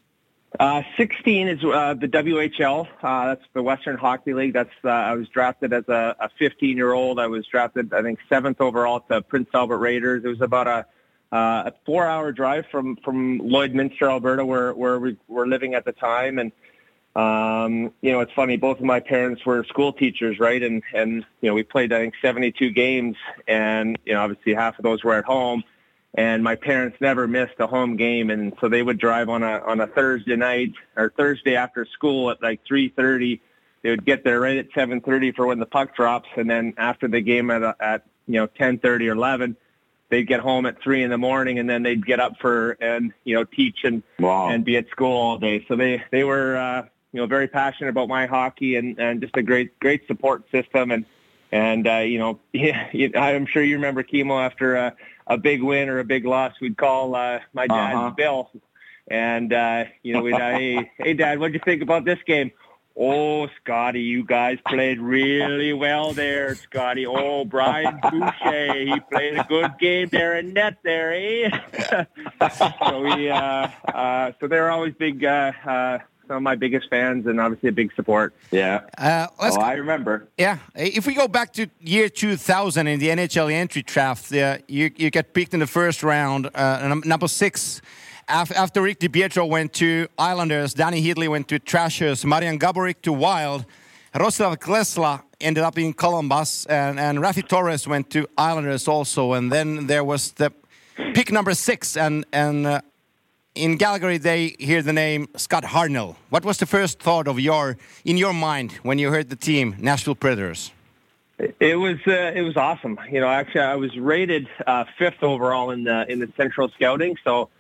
[SPEAKER 5] 16 is the WHL. That's the Western Hockey League. That's I was drafted as a 15-year-old. I was drafted, I think, 7th overall to Prince Albert Raiders. It was about a 4-hour drive from Lloydminster, Alberta, where we were living at the time. And it's funny, both of my parents were school teachers, right? And we played, I think, 72 games, and, obviously half of those were at home, and my parents never missed a home game. And so they would drive on a Thursday night or Thursday after school at like 3:30. They would get there right at 7:30 for when the puck drops. And then after the game at 10:30 or 11, they'd get home at 3 in the morning, and then they'd get up and teach and be at school all day. So they were, very passionate about my hockey and just a great support system. And I'm sure you remember, Kimo, after a big win or a big loss, we'd call my dad, Bill. And, we'd, hey, Dad, what'd you think about this game? Oh, Scotty, you guys played really well there, Scotty. Oh, Brian Boucher, he played a good game there in net there, eh? So they were always big, some of my biggest fans, and obviously a big support.
[SPEAKER 3] Yeah. I remember.
[SPEAKER 2] Yeah. If we go back to year 2000 in the NHL entry draft, you get picked in the first round, number 6. After Rick DiPietro went to Islanders, Danny Heatley went to Trashers, Marian Gaborik to Wild. Roslav Klesla ended up in Columbus, and Rafi Torres went to Islanders also. And then there was the pick number 6, and in Calgary they hear the name Scott Hartnell. What was the first thought in your mind when you heard the team, Nashville Predators?
[SPEAKER 5] It was awesome. You know, actually, I was rated 5th overall in the Central Scouting, so.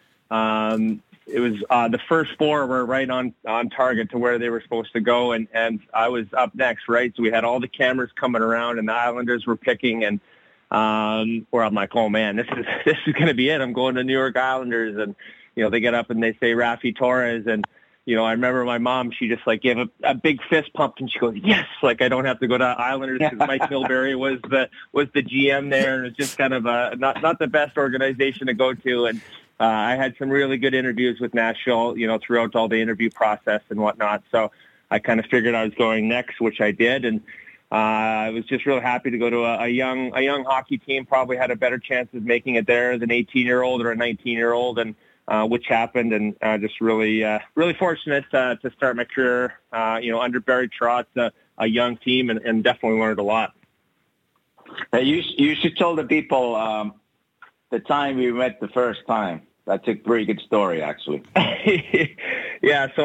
[SPEAKER 5] It was the first 4 were right on target to where they were supposed to go, and I was up next, right? So we had all the cameras coming around, and the Islanders were picking, and where I'm like, oh man, this is going to be it. I'm going to New York Islanders, and you know they get up and they say Rafi Torres, and you know I remember my mom, she just like gave a big fist pump, and she goes, yes, like I don't have to go to Islanders because Mike Milbury was the GM there, and it's just kind of not the best organization to go to, and. I had some really good interviews with Nashville, you know, throughout all the interview process and whatnot. So I kind of figured I was going next, which I did. And I was just really happy to go to a young hockey team, probably had a better chance of making it there as an 18-year-old or a 19-year-old, and which happened. And just really fortunate to start my career, you know, under Barry Trotz, a young team, and definitely learned a lot.
[SPEAKER 3] You should tell the people the time we met the first time. That's a pretty good story, actually.
[SPEAKER 5] Yeah, so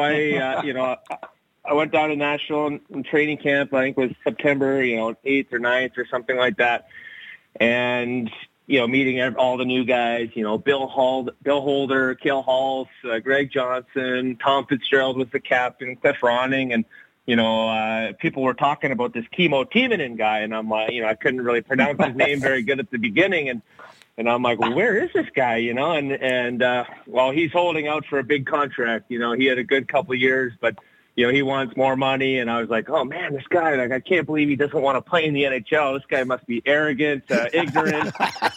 [SPEAKER 5] I went down to Nashville in training camp. I think it was September, 8th or 9th or something like that. And, meeting all the new guys, Bill Holder, Cale Halls, Greg Johnson, Tom Fitzgerald was the captain, Cliff Ronning, and, people were talking about this Kimmo Timonen guy. And I'm like, I couldn't really pronounce his name very good at the beginning. And I'm like, well, where is this guy, And well, he's holding out for a big contract. He had a good couple of years, but, he wants more money. And I was like, oh, man, this guy, I can't believe he doesn't want to play in the NHL. This guy must be arrogant, ignorant.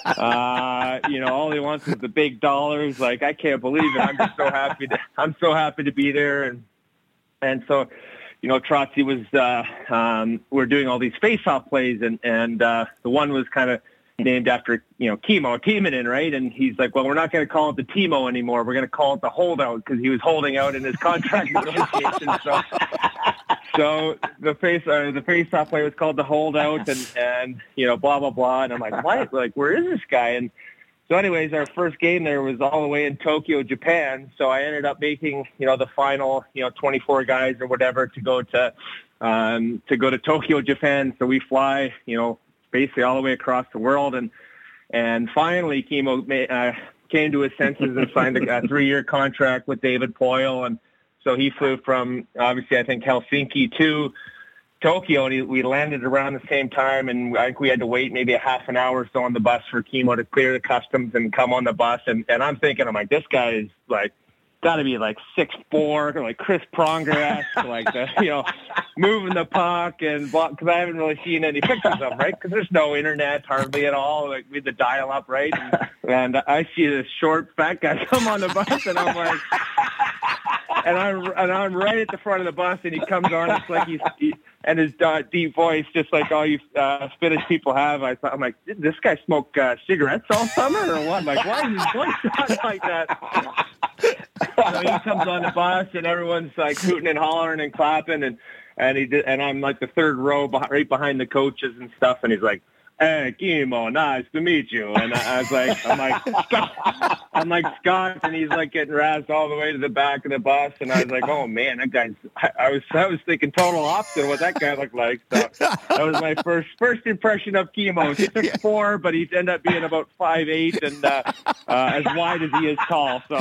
[SPEAKER 5] All he wants is the big dollars. Like, I can't believe it. I'm so happy to be there. And so, Trotzy was, we're doing all these face-off plays, and the one was kind of named after, Kimmo Timonen, right? And he's like, well, we're not going to call it the Timo anymore. We're going to call it the holdout because he was holding out in his contract negotiation. So the face-off play was called the holdout, and blah, blah, blah. And I'm like, what? Like, where is this guy? And so anyways, our first game there was all the way in Tokyo, Japan. So I ended up making, the final, 24 guys or whatever to go to Tokyo, Japan. So we fly, basically all the way across the world. And finally, Kimmo came to his senses and signed a 3-year contract with David Poile. And so he flew from, obviously, I think, Helsinki to Tokyo, and we landed around the same time, and I think we had to wait maybe a half an hour or so on the bus for Kimmo to clear the customs and come on the bus. And I'm thinking, I'm like, this guy is like, got to be like 6'4", like Chris Pronger, like moving the puck, and because I haven't really seen any pictures of him, right? Because there's no internet hardly at all, like with the dial-up, right? And I see this short fat guy come on the bus, and I'm like, and I'm right at the front of the bus, and he comes on, it's like and his deep voice, just like all you Finnish people have. I'm like, did this guy smoke cigarettes all summer or what? Like, why is his voice sound like that? So he comes on the bus, and everyone's like hooting and hollering and clapping, and I'm like the third row right behind the coaches and stuff, and he's like, hey, Kimmo, nice to meet you. And I was like, I'm like, Scott, and he's like getting razzed all the way to the back of the bus. And I was like, oh man, that guy's, I was thinking total opposite of what that guy looked like. So that was my first impression of Kimmo. He's 6'4", but he ended up being about 5'8", and as wide as he is tall. So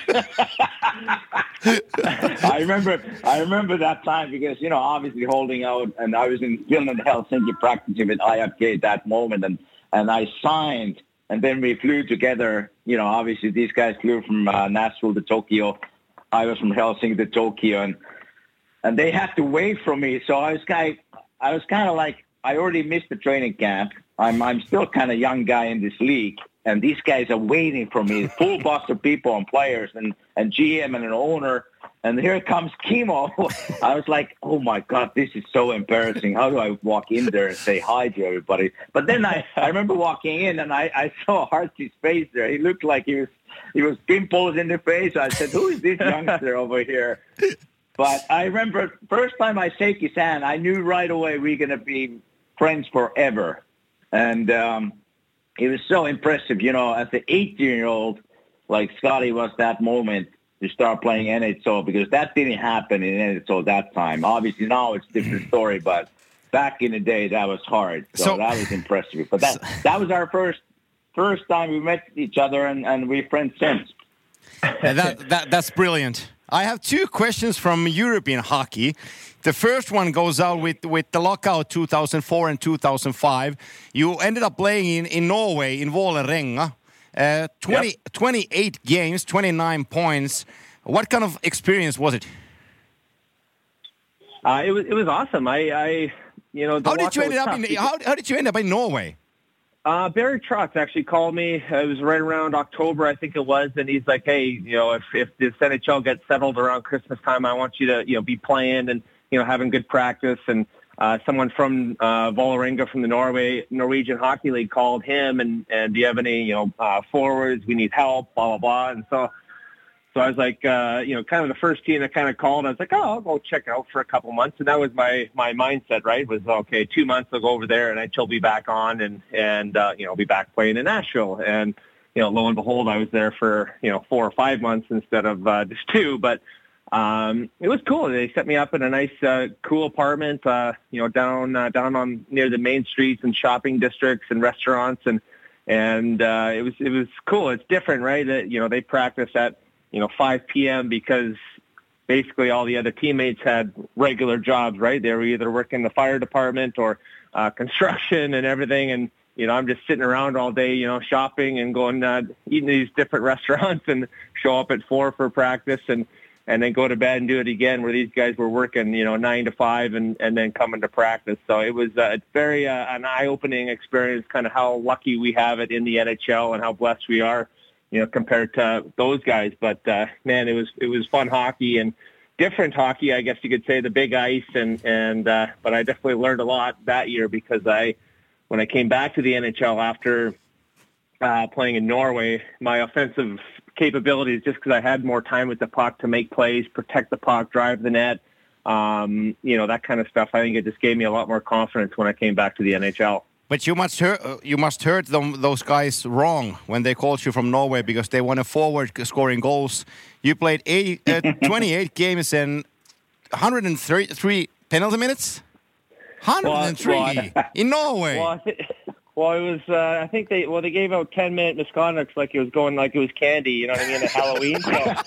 [SPEAKER 3] I remember that time because, obviously holding out, and I was in Finland, Helsinki practicing with IFK that moment, and I signed, and then we flew together. Obviously these guys flew from Nashville to Tokyo. I was from Helsinki to Tokyo, and they had to wait for me. So I was kind of like, I already missed the training camp. I'm still kind of young guy in this league, and these guys are waiting for me. Full box of people and players and GM and an owner. And here comes Kimmo. I was like, oh, my God, this is so embarrassing. How do I walk in there and say hi to everybody? But then I remember walking in, and I saw Hartsy's face there. He looked like he was pimples in the face. I said, who is this youngster over here? But I remember first time I shake his hand, I knew right away we're going to be friends forever. And it was so impressive, you know, as an 18-year-old, like Scotty was that moment to start playing NHL, because that didn't happen in NHL that time. Obviously now it's a different story, but back in the day that was hard. So that was impressive. But that was our first time we met each other, and we're friends since.
[SPEAKER 2] That's brilliant. I have two questions from European hockey. The first one goes out with the lockout 2004 and 2005. You ended up playing in Norway, in Vålerenga. 28 games, 29 points. What kind of experience was it?
[SPEAKER 5] It was awesome. How did you end up in Norway? Barry Trotz actually called me. It was right around October, I think it was, and he's like, "Hey, you know, if this NHL gets settled around Christmas time, I want you to, you know, be playing and, you know, having good practice." And someone from Vålerenga from the Norwegian Hockey League called him and do you have any, you know, forwards? We need help, blah blah blah. And so I was like, you know, kind of the first team that kind of called. I was like, oh, I'll go check out for a couple months. And that was my mindset, right? Was, okay, 2 months I'll go over there and I'll be back on and you know, be back playing in Nashville. And, you know, lo and behold, I was there for, you know, 4 or 5 months instead of just 2. But it was cool. They set me up in a nice, cool apartment, you know, down on near the main streets and shopping districts and restaurants. And it was cool. It's different, right? You know, they practice at, you know, 5 p.m. because basically all the other teammates had regular jobs, right? They were either working in the fire department or construction and everything. And, you know, I'm just sitting around all day, you know, shopping and going, eating these different restaurants and show up at 4 for practice and then go to bed and do it again, where these guys were working, you know, 9 to 5 and then coming to practice. So it was very an eye-opening experience, kind of how lucky we have it in the NHL and how blessed we are, you know, compared to those guys. But, man, it was fun hockey and different hockey, I guess you could say, the big ice. But I definitely learned a lot that year because when I came back to the NHL after playing in Norway, my offensive capabilities, just because I had more time with the puck to make plays, protect the puck, drive the net, you know, that kind of stuff. I think it just gave me a lot more confidence when I came back to the NHL.
[SPEAKER 2] But you must hurt those guys wrong when they called you from Norway because they want a forward scoring goals. You played 28 games and 103 penalty minutes? 103 in Norway.
[SPEAKER 5] Well, it was, I think they gave out 10-minute misconducts like it was candy, you know what I mean, at Halloween.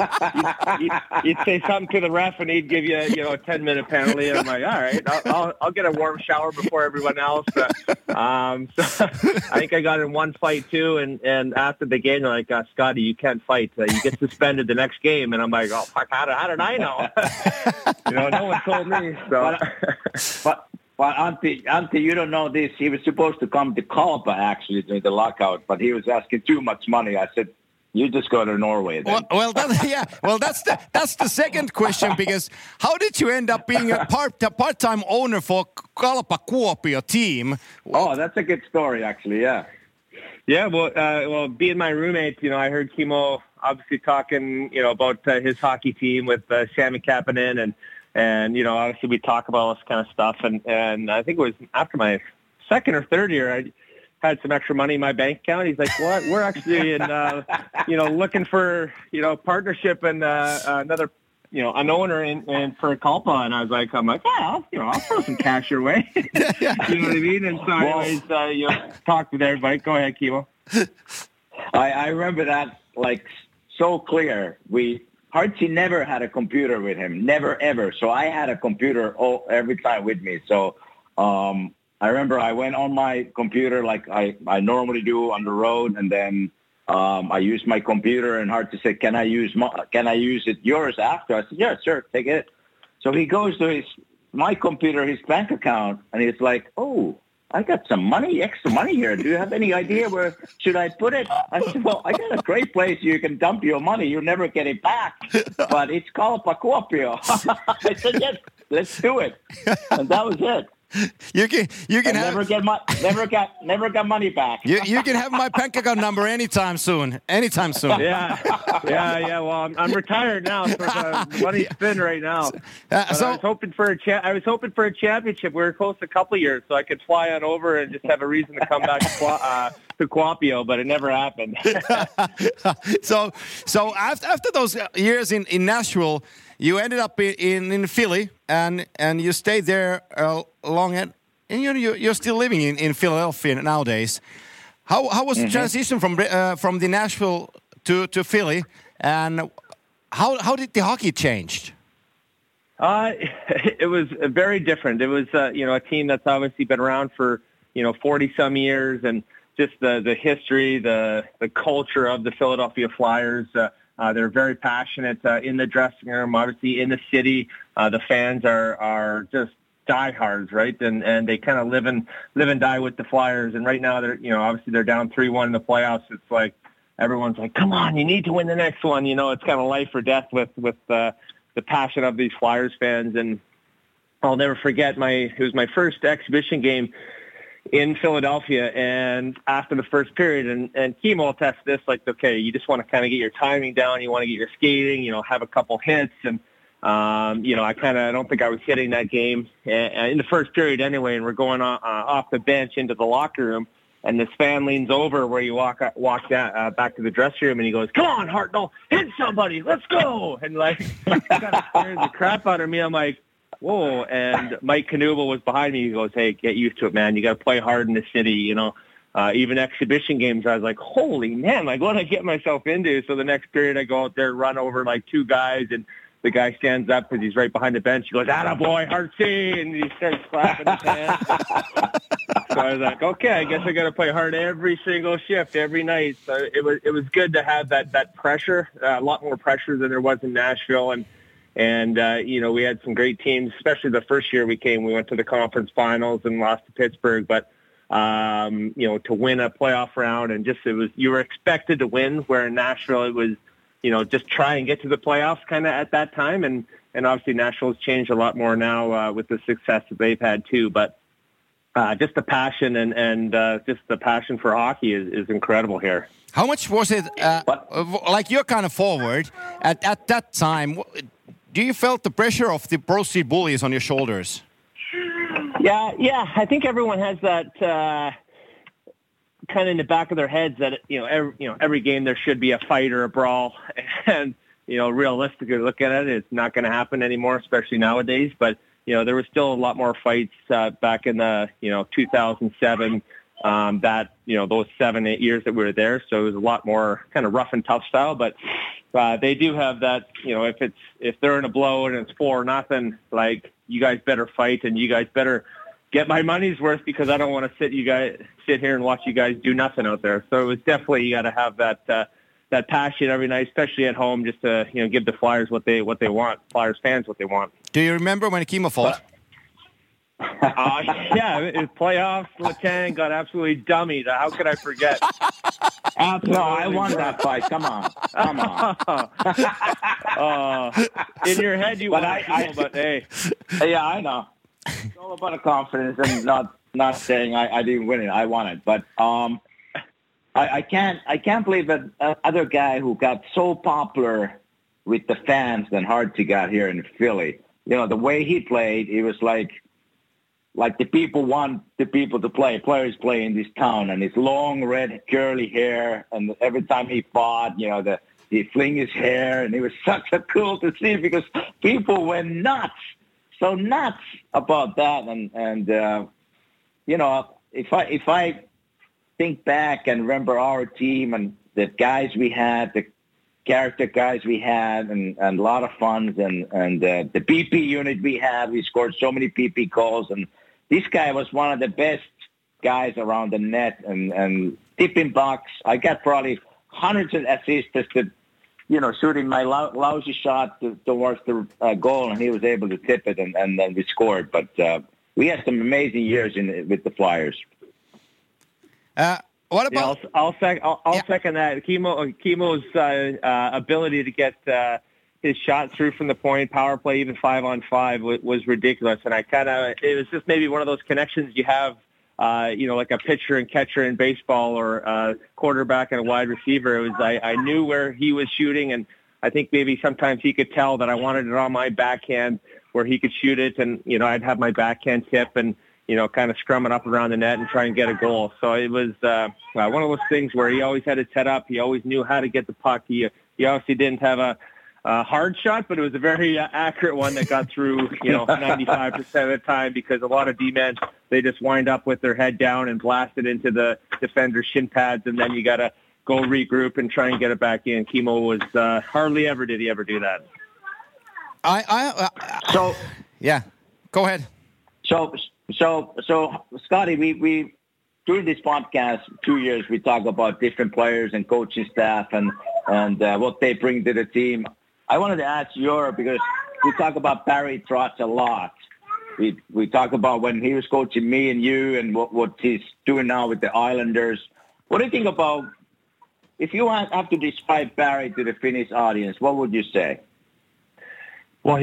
[SPEAKER 5] So you'd say something to the ref and he'd give you, you know, a 10-minute penalty. And I'm like, all right, I'll get a warm shower before everyone else. So I think I got in one fight too. And after the game, they're like, Scotty, you can't fight. You get suspended the next game. And I'm like, oh, fuck, how did I know? You know, no one told me. So.
[SPEAKER 3] But Antti, you don't know this. He was supposed to come to Kalpa actually during the lockout, but he was asking too much money. I said, "You just go to Norway then."
[SPEAKER 2] Well, that's the second question, because how did you end up being a part-time owner for Kalpa Kuopio team?
[SPEAKER 3] Oh, that's a good story, actually. Yeah.
[SPEAKER 5] Yeah. Well, being my roommate, you know, I heard Kimmo obviously talking, you know, about his hockey team with Sami Kapanen and, you know, obviously we talk about all this kind of stuff. And I think it was after my second or third year, I had some extra money in my bank account. He's like, what? We're actually in, you know, looking for, you know, partnership and another, you know, an owner and for Kalpa. And I was like, yeah, I'll throw some cash your way. You know what I mean? And so anyways, you know, talk with everybody. Go ahead, Kimmo.
[SPEAKER 3] I remember that like so clear. Hartsey never had a computer with him, never, ever. So I had a computer every time with me. So I remember I went on my computer like I normally do on the road, and then I used my computer, and Hartsey said, "Can I use yours after?" I said, "Yeah, sure, take it." So he goes to my computer, his bank account, and he's like, "Oh, I got some money, extra money here. Do you have any idea where should I put it?" I said, "Well, I got a great place you can dump your money. You'll never get it back. But it's Kalpa Kuopio." I said, "Yes, let's do it." And that was it.
[SPEAKER 2] You can have,
[SPEAKER 3] never got money back.
[SPEAKER 2] You can have my bank account number anytime soon.
[SPEAKER 5] Yeah. Well, I'm retired now, so the money's spin right now. I was hoping for a championship. We were close a couple of years, so I could fly on over and just have a reason to come back to Kuopio, but it never happened.
[SPEAKER 2] So after those years in Nashville, you ended up in Philly, and you stayed there long, and you're still living in Philadelphia nowadays. How was the transition from the Nashville to Philly, and how did the hockey change?
[SPEAKER 5] It was very different. It was a team that's obviously been around for 40 some years, and just the history, the culture of the Philadelphia Flyers. They're very passionate in the dressing room, obviously in the city. The fans are just diehards, right? And they kind of live and die with the Flyers. And right now they're obviously they're down 3-1 in the playoffs. It's like everyone's like, come on, you need to win the next one. It's kind of life or death with the passion of these Flyers fans. And I'll never forget it was my first exhibition game in Philadelphia, and after the first period, and Kimo will test this, like, okay, you just want to kind of get your timing down, you want to get your skating, have a couple hits, and I don't think I was hitting that game in the first period anyway, and we're going off the bench into the locker room, and this fan leans over where you walk down, back to the dressing room, and he goes, "Come on, Hartnell, hit somebody, let's go!" And like, it kind of scares the crap out of me. I'm like, whoa. And Mike Knuble was behind me. He goes, "Hey, get used to it, man. You got to play hard in the city." Even exhibition games, I was like, holy man, like, what did I get myself into? So the next period I go out there, run over like two guys, and the guy stands up because he's right behind the bench. He goes, "Attaboy, hard C," and he starts clapping his hands. So I was like, okay, I guess I got to play hard every single shift, every night. So it was good to have that pressure, a lot more pressure than there was in Nashville. And we had some great teams, especially the first year we came. We went to the conference finals and lost to Pittsburgh. But, to win a playoff round, and you were expected to win, where in Nashville it was, just try and get to the playoffs kind of at that time. And obviously Nashville's changed a lot more now with the success that they've had too. But just the passion and just the passion for hockey is incredible here.
[SPEAKER 2] How much was it, like you're kind of forward at that time? Do you felt the pressure of the Pro Street Bullies on your shoulders?
[SPEAKER 5] Yeah. I think everyone has that kind of in the back of their heads that every game there should be a fight or a brawl, and realistically looking at it, it's not going to happen anymore, especially nowadays. But there was still a lot more fights back in the 2007. Those 7-8 years that we were there, so it was a lot more kind of rough and tough style. But they do have that, if they're in a blow and it's 4-0, like, you guys better fight and you guys better get my money's worth, because I don't want to sit here and watch you guys do nothing out there. So it was definitely, you got to have that passion every night, especially at home, just to give the Flyers what they want, Flyers fans what they want.
[SPEAKER 2] Do you remember when Kimo fought?
[SPEAKER 5] Yeah, it was playoffs. Letang got absolutely dummied. How could I forget?
[SPEAKER 3] No, I won that fight. Come on.
[SPEAKER 5] In your head, you won, but hey.
[SPEAKER 3] Yeah, I know. It's all about the confidence and not saying I didn't win it. I won it, but I can't believe that other guy who got so popular with the fans than Hartsey got here in Philly. The way he played, it was like the people want the people to play. Players play in this town, and his long red curly hair, and every time he fought, he fling his hair, and it was such a cool to see, because people went nuts about that. And if I think back and remember our team and the guys we had, the character guys we had, and a lot of funds, and the PP unit we had, we scored so many PP goals, and this guy was one of the best guys around the net, and tipping box. I got probably hundreds of assists just to, shooting my lousy shot towards the goal, and he was able to tip it, and then we scored. But we had some amazing years with the Flyers.
[SPEAKER 2] What about?
[SPEAKER 5] Yeah, I'll second that. Kimo's ability to get his shot through from the point, power play, even 5-on-5 was ridiculous. And it was just maybe one of those connections you have, like a pitcher and catcher in baseball or a quarterback and a wide receiver. It was, I knew where he was shooting, and I think maybe sometimes he could tell that I wanted it on my backhand where he could shoot it. And, I'd have my backhand tip and, kind of scrum it up around the net and try and get a goal. So it was one of those things where he always had it set up. He always knew how to get the puck. He obviously didn't have a hard shot, but it was a very accurate one that got through, 95% of the time, because a lot of D-men, they just wind up with their head down and blast it into the defender's shin pads, and then you got to go regroup and try and get it back in. Kimo was hardly ever did he ever do that.
[SPEAKER 2] Yeah, go ahead.
[SPEAKER 3] So, Scotty, we during this podcast 2 years we talk about different players and coaching staff and what they bring to the team. I wanted to ask because we talk about Barry Trotz a lot. We talk about when he was coaching me and you and what he's doing now with the Islanders. What do you think about, if you have to describe Barry to the Finnish audience, what would you say?
[SPEAKER 5] Well,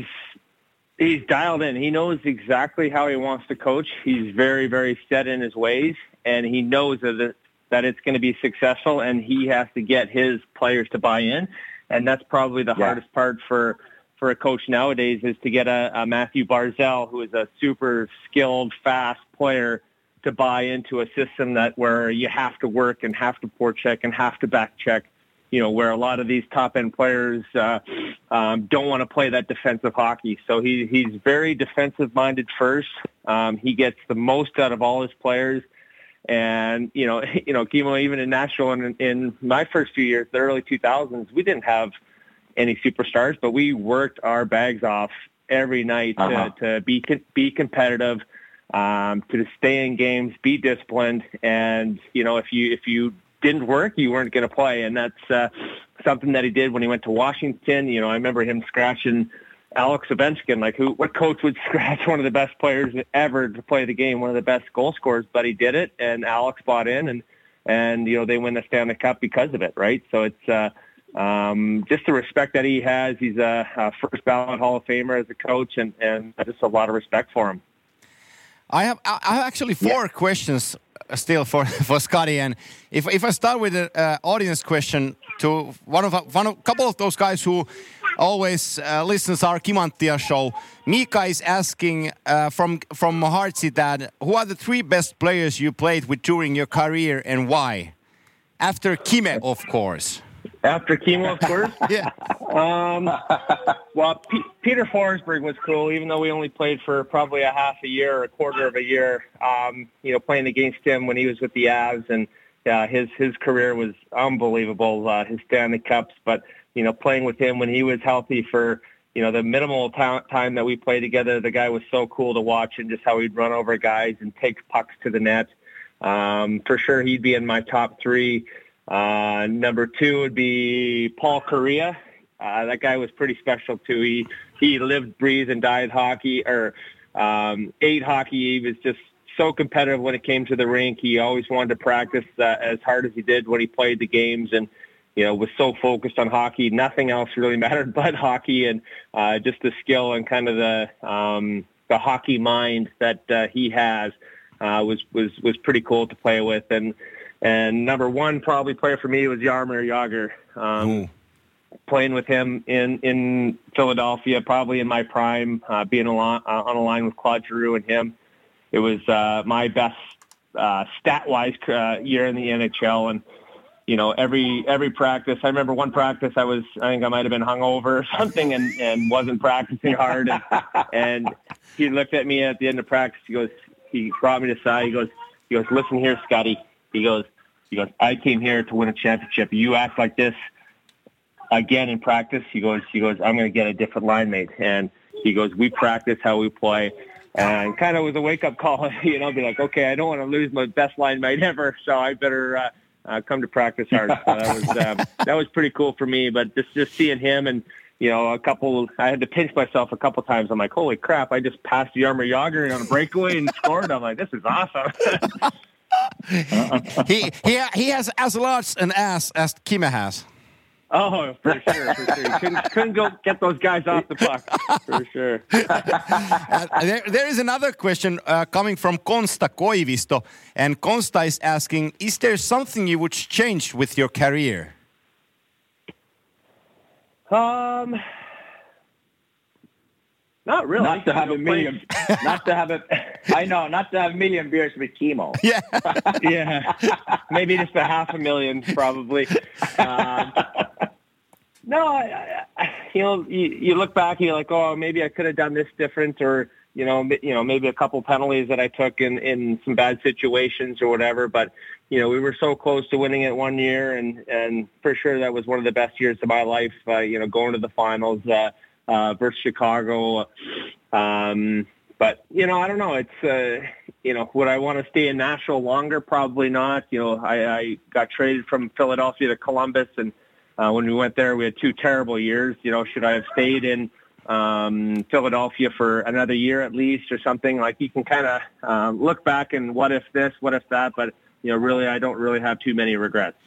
[SPEAKER 5] he's dialed in. He knows exactly how he wants to coach. He's very, very set in his ways, and he knows that it's going to be successful, and he has to get his players to buy in. And that's probably the hardest part for a coach nowadays, is to get a Matthew Barzal, who is a super skilled, fast player, to buy into a system where you have to work and have to forecheck and have to back check. Where a lot of these top-end players don't want to play that defensive hockey. So he's very defensive-minded first. He gets the most out of all his players. And, Kimo, even in Nashville and in my first few years, the early 2000s, we didn't have any superstars, but we worked our bags off every night to be competitive, to stay in games, be disciplined. And, if you didn't work, you weren't going to play. And that's something that he did when he went to Washington. I remember him scratching Alex Ovechkin. What coach would scratch one of the best players ever to play the game, one of the best goal scorers? But he did it, and Alex bought in, and they win the Stanley Cup because of it, right? So it's just the respect that he has. He's a first ballot Hall of Famer as a coach, and just a lot of respect for him.
[SPEAKER 2] I have actually four questions still for Scotty, and if I start with an audience question to a couple of those guys who always listens our Kimanttia show. Mika is asking from Heartseat, who are the three best players you played with during your career and why? After Kime, of course.
[SPEAKER 5] After Kimo, of course?
[SPEAKER 2] Yeah.
[SPEAKER 5] Well, Peter Forsberg was cool, even though we only played for probably a half a year or a quarter of a year. Playing against him when he was with the Avs, and his career was unbelievable, his Stanley Cups. But, playing with him when he was healthy for, the minimal time that we played together, the guy was so cool to watch, and just how he'd run over guys and take pucks to the net. For sure, he'd be in my top three. Number two would be Paul Kariya. That guy was pretty special too. He lived, breathed, and died hockey, or ate hockey. He was just so competitive when it came to the rink. He always wanted to practice as hard as he did when he played the games, and was so focused on hockey. Nothing else really mattered but hockey, and just the skill and kind of the hockey mind that he has was pretty cool to play with. And number one probably player for me was Jaromir Jagr. Playing with him in Philadelphia, probably in my prime, being on a line with Claude Giroux and him. It was my best stat-wise year in the NHL. And, every practice, I remember one practice I think I might have been hungover or something and wasn't practicing hard. And he looked at me at the end of practice. He brought me to the side. He goes, "Listen here, Scotty." He goes, "I came here to win a championship. You act like this again in practice." He goes, "I'm going to get a different line mate." And he goes, "We practice how we play." And kind of was a wake-up call, be like, okay, I don't want to lose my best line mate ever, so I better come to practice hard. So that was pretty cool for me. But just seeing him and, I had to pinch myself a couple times. I'm like, holy crap, I just passed Jaromir Jagr on a breakaway and scored. I'm like, this is awesome.
[SPEAKER 2] He has as large an ass as Kime has.
[SPEAKER 5] Oh, for sure. Couldn't go get those guys off the puck, for sure.
[SPEAKER 2] There is another question coming from Konsta Koivisto, and Konsta is asking, is there something you would change with your career?
[SPEAKER 5] Not really.
[SPEAKER 3] Not to have a million. Not to have a million beers with Kimmo.
[SPEAKER 2] Yeah.
[SPEAKER 5] Yeah. Maybe just 500,000, probably. No, you look back, you're like, oh, maybe I could have done this different, or maybe a couple penalties that I took in some bad situations or whatever. But we were so close to winning it one year, and for sure that was one of the best years of my life. Going to the finals versus Chicago. But I don't know. It's would I want to stay in Nashville longer? Probably not. I got traded from Philadelphia to Columbus, and when we went there, we had 2 terrible years. Should I have stayed in Philadelphia for another year at least, or something? Like, you can kind of look back and what if this, what if that, but really, I don't really have too many regrets.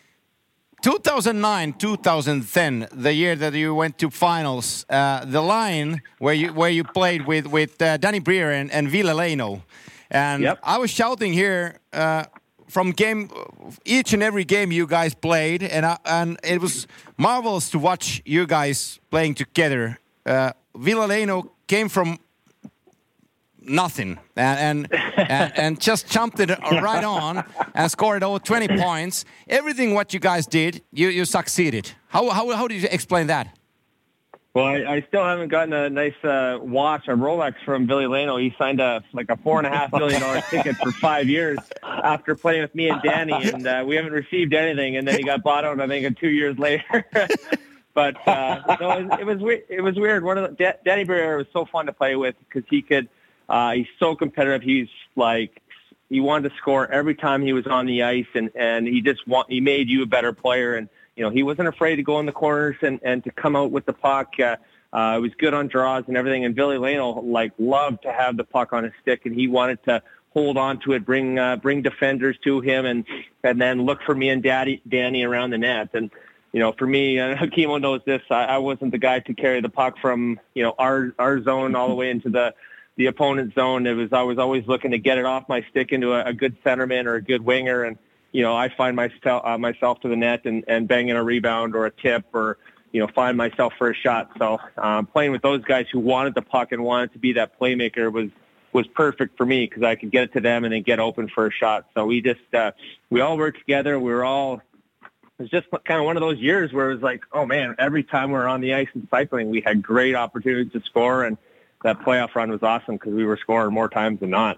[SPEAKER 2] 2009, 2010, the year that you went to finals, the line where you played with Danny Briere and Ville Leino, and
[SPEAKER 5] yep.
[SPEAKER 2] I was shouting here from each and every game you guys played, and it was marvelous to watch you guys playing together. Ville Leino came from nothing and just jumped it right on and scored over 20 points. Everything what you guys did, you succeeded. How did you explain that?
[SPEAKER 5] Well, I still haven't gotten a nice watch, a Rolex from Ville Leino. He signed a $4.5 million ticket for 5 years after playing with me and Danny, and we haven't received anything. And then he got bought out, I think, 2 years later. But no, it was weird. Danny Briere was so fun to play with because he could. He's so competitive. He wanted to score every time he was on the ice, and he made you a better player. And he wasn't afraid to go in the corners and to come out with the puck. He was good on draws and everything. And Ville Leino loved to have the puck on his stick, and he wanted to hold on to it, bring defenders to him, and then look for me and Danny around the net. And for me, Kimmo knows this. I wasn't the guy to carry the puck from our zone all the way into the opponent's zone. I was always looking to get it off my stick into a good centerman or a good winger, and I find myself to the net and banging a rebound or a tip, or find myself for a shot. So playing with those guys who wanted the puck and wanted to be that playmaker was perfect for me, because I could get it to them and then get open for a shot. So we all worked together. It was just kind of one of those years where it was like, oh man, every time we were on the ice and cycling, we had great opportunities to score, and that playoff run was awesome because we were scoring more times than not.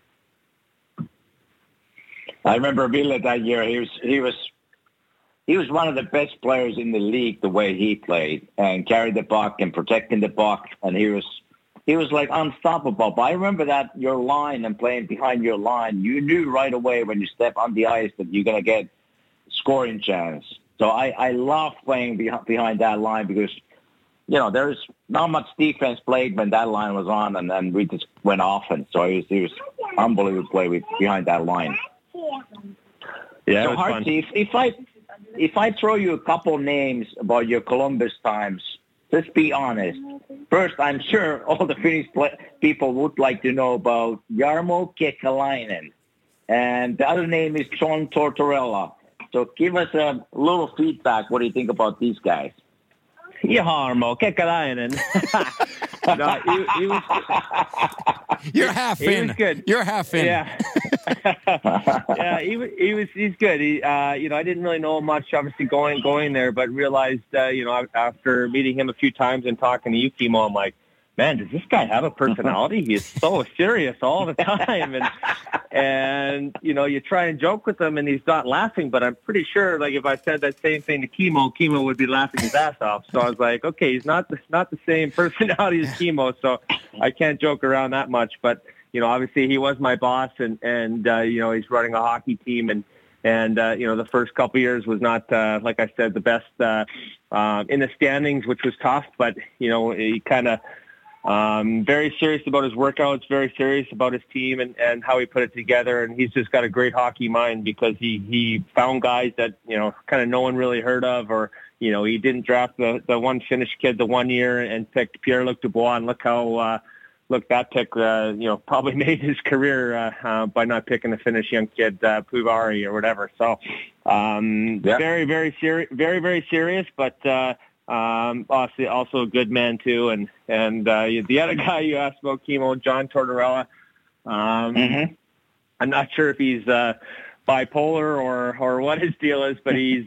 [SPEAKER 3] I remember Ville that year. He was one of the best players in the league, the way he played and carried the puck and protecting the puck, and he was like unstoppable. But I remember that your line and playing behind your line, you knew right away when you step on the ice that you're gonna get scoring chance. So I love playing behind that line because there's not much defense played when that line was on, and then we just went offense. So it was unbelievable to play behind that line.
[SPEAKER 5] Yeah,
[SPEAKER 3] so Hartsey, if I throw you a couple names about your Columbus times, just be honest. First, I'm sure all the Finnish people would like to know about Jarmo Kekalainen, and the other name is John Tortorella. So give us a little feedback. What do you think about these guys?
[SPEAKER 5] Jarmo Kekalainen. No, he was.
[SPEAKER 2] You're half in.
[SPEAKER 5] He was good.
[SPEAKER 2] You're half in.
[SPEAKER 5] Yeah. Yeah, he's good. I didn't really know much, obviously, going there, but realized, after meeting him a few times and talking to you, Kimmo, I'm like, man, does this guy have a personality? He is so serious all the time. And you try and joke with him and he's not laughing, but I'm pretty sure, if I said that same thing to Kimmo would be laughing his ass off. So I was like, okay, he's not the same personality as Kimmo, so I can't joke around that much. But, obviously he was my boss, and he's running a hockey team, and the first couple of years was not, like I said, the best in the standings, which was tough, but, he kind of Very serious about his workouts, very serious about his team and how he put it together. And he's just got a great hockey mind because he found guys that, kind of no one really heard of, or, he didn't draft the one Finnish kid the 1 year and picked Pierre-Luc Dubois. And look how, that pick, probably made his career by not picking the Finnish young kid, Puvari or whatever. So very, very serious, very, very serious, but also a good man too. And the other guy you asked about, Kimmo, John Tortorella. I'm not sure if he's bipolar or what his deal is, but he's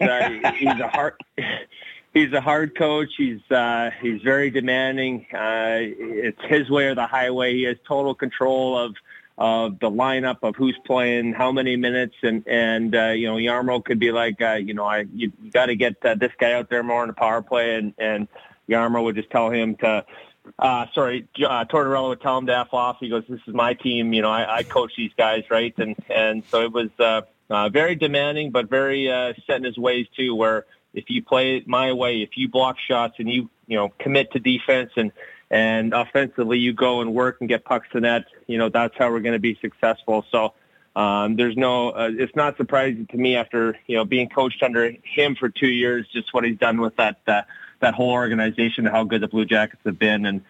[SPEAKER 5] a hard coach. He's very demanding. It's his way or the highway. He has total control of the lineup, of who's playing, how many minutes, and Jarmo could be like, you got to get this guy out there more on the power play, and Jarmo would just tell him to. Tortorella would tell him to F off. He goes, "This is my team. I coach these guys, right?" And so it was very demanding, but very set in his ways too. Where if you play it my way, if you block shots and you commit to defense and offensively you go and work and get pucks to net, that's how we're going to be successful. So there's it's not surprising to me after being coached under him for 2 years, just what he's done with that whole organization, how good the Blue Jackets have been. And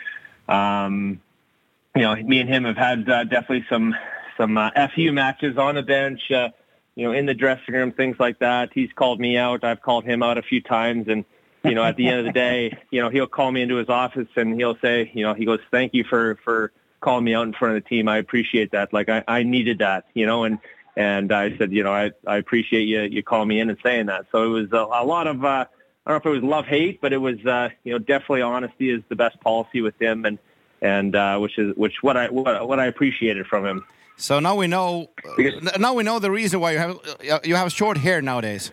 [SPEAKER 5] me and him have had definitely some FU matches on the bench, in the dressing room, things like that. He's called me out. I've called him out a few times. And, at the end of the day, he'll call me into his office and he'll say, he goes, "Thank you for calling me out in front of the team. I appreciate that. Like I needed that, and I said, I appreciate you calling me in and saying that." So it was a lot of, I don't know if it was love-hate, but it was, definitely honesty is the best policy with him, and what I appreciated from him.
[SPEAKER 2] So now we know. Now we know the reason why you have short hair nowadays.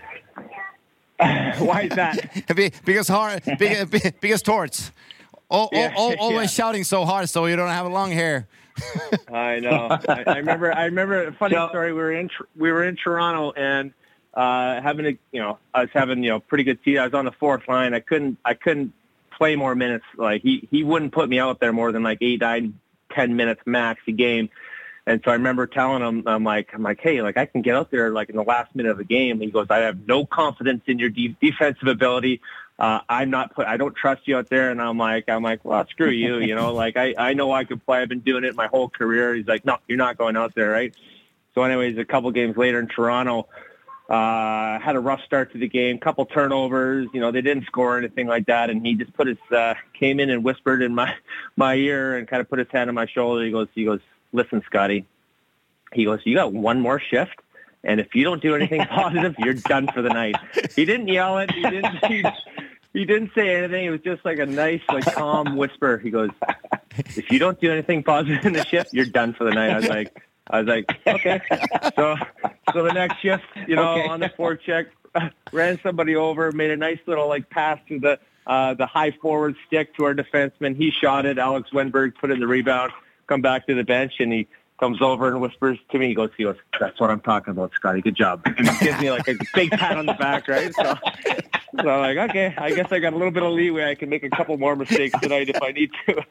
[SPEAKER 5] Why is that?
[SPEAKER 2] because Torts always shouting so hard, so you don't have long hair.
[SPEAKER 5] I know. I remember a funny story. We were in Toronto and I was having pretty good seat. I was on the fourth line. I couldn't play more minutes. Like he wouldn't put me out there more than like 8, 9, 10 minutes max a game. And so I remember telling him, I'm like, "Hey, like I can get out there like in the last minute of the game." And he goes, "I have no confidence in your defensive ability. I don't trust you out there." And I'm like, "Well, screw you. Like I know I could play. I've been doing it my whole career." He's like, "No, you're not going out there, right?" So anyways, a couple games later in Toronto, had a rough start to the game, couple turnovers. They didn't score or anything like that. And he just came in and whispered in my ear and kind of put his hand on my shoulder. He goes, "Listen, Scotty," he goes, "you got one more shift, and if you don't do anything positive, you're done for the night." He didn't yell it. He didn't say anything. It was just like a nice, like calm whisper. He goes, "If you don't do anything positive in the shift, you're done for the night." I was like, okay. So the next shift, on the forecheck, ran somebody over, made a nice little like pass to the high forward stick to our defenseman. He shot it. Alex Wenberg put in the rebound. Come back to the bench, and he comes over and whispers to me. He goes, "That's what I'm talking about, Scotty. Good job." And he gives me like a big pat on the back, right? So I'm like, okay, I guess I got a little bit of leeway. I can make a couple more mistakes tonight if I need to.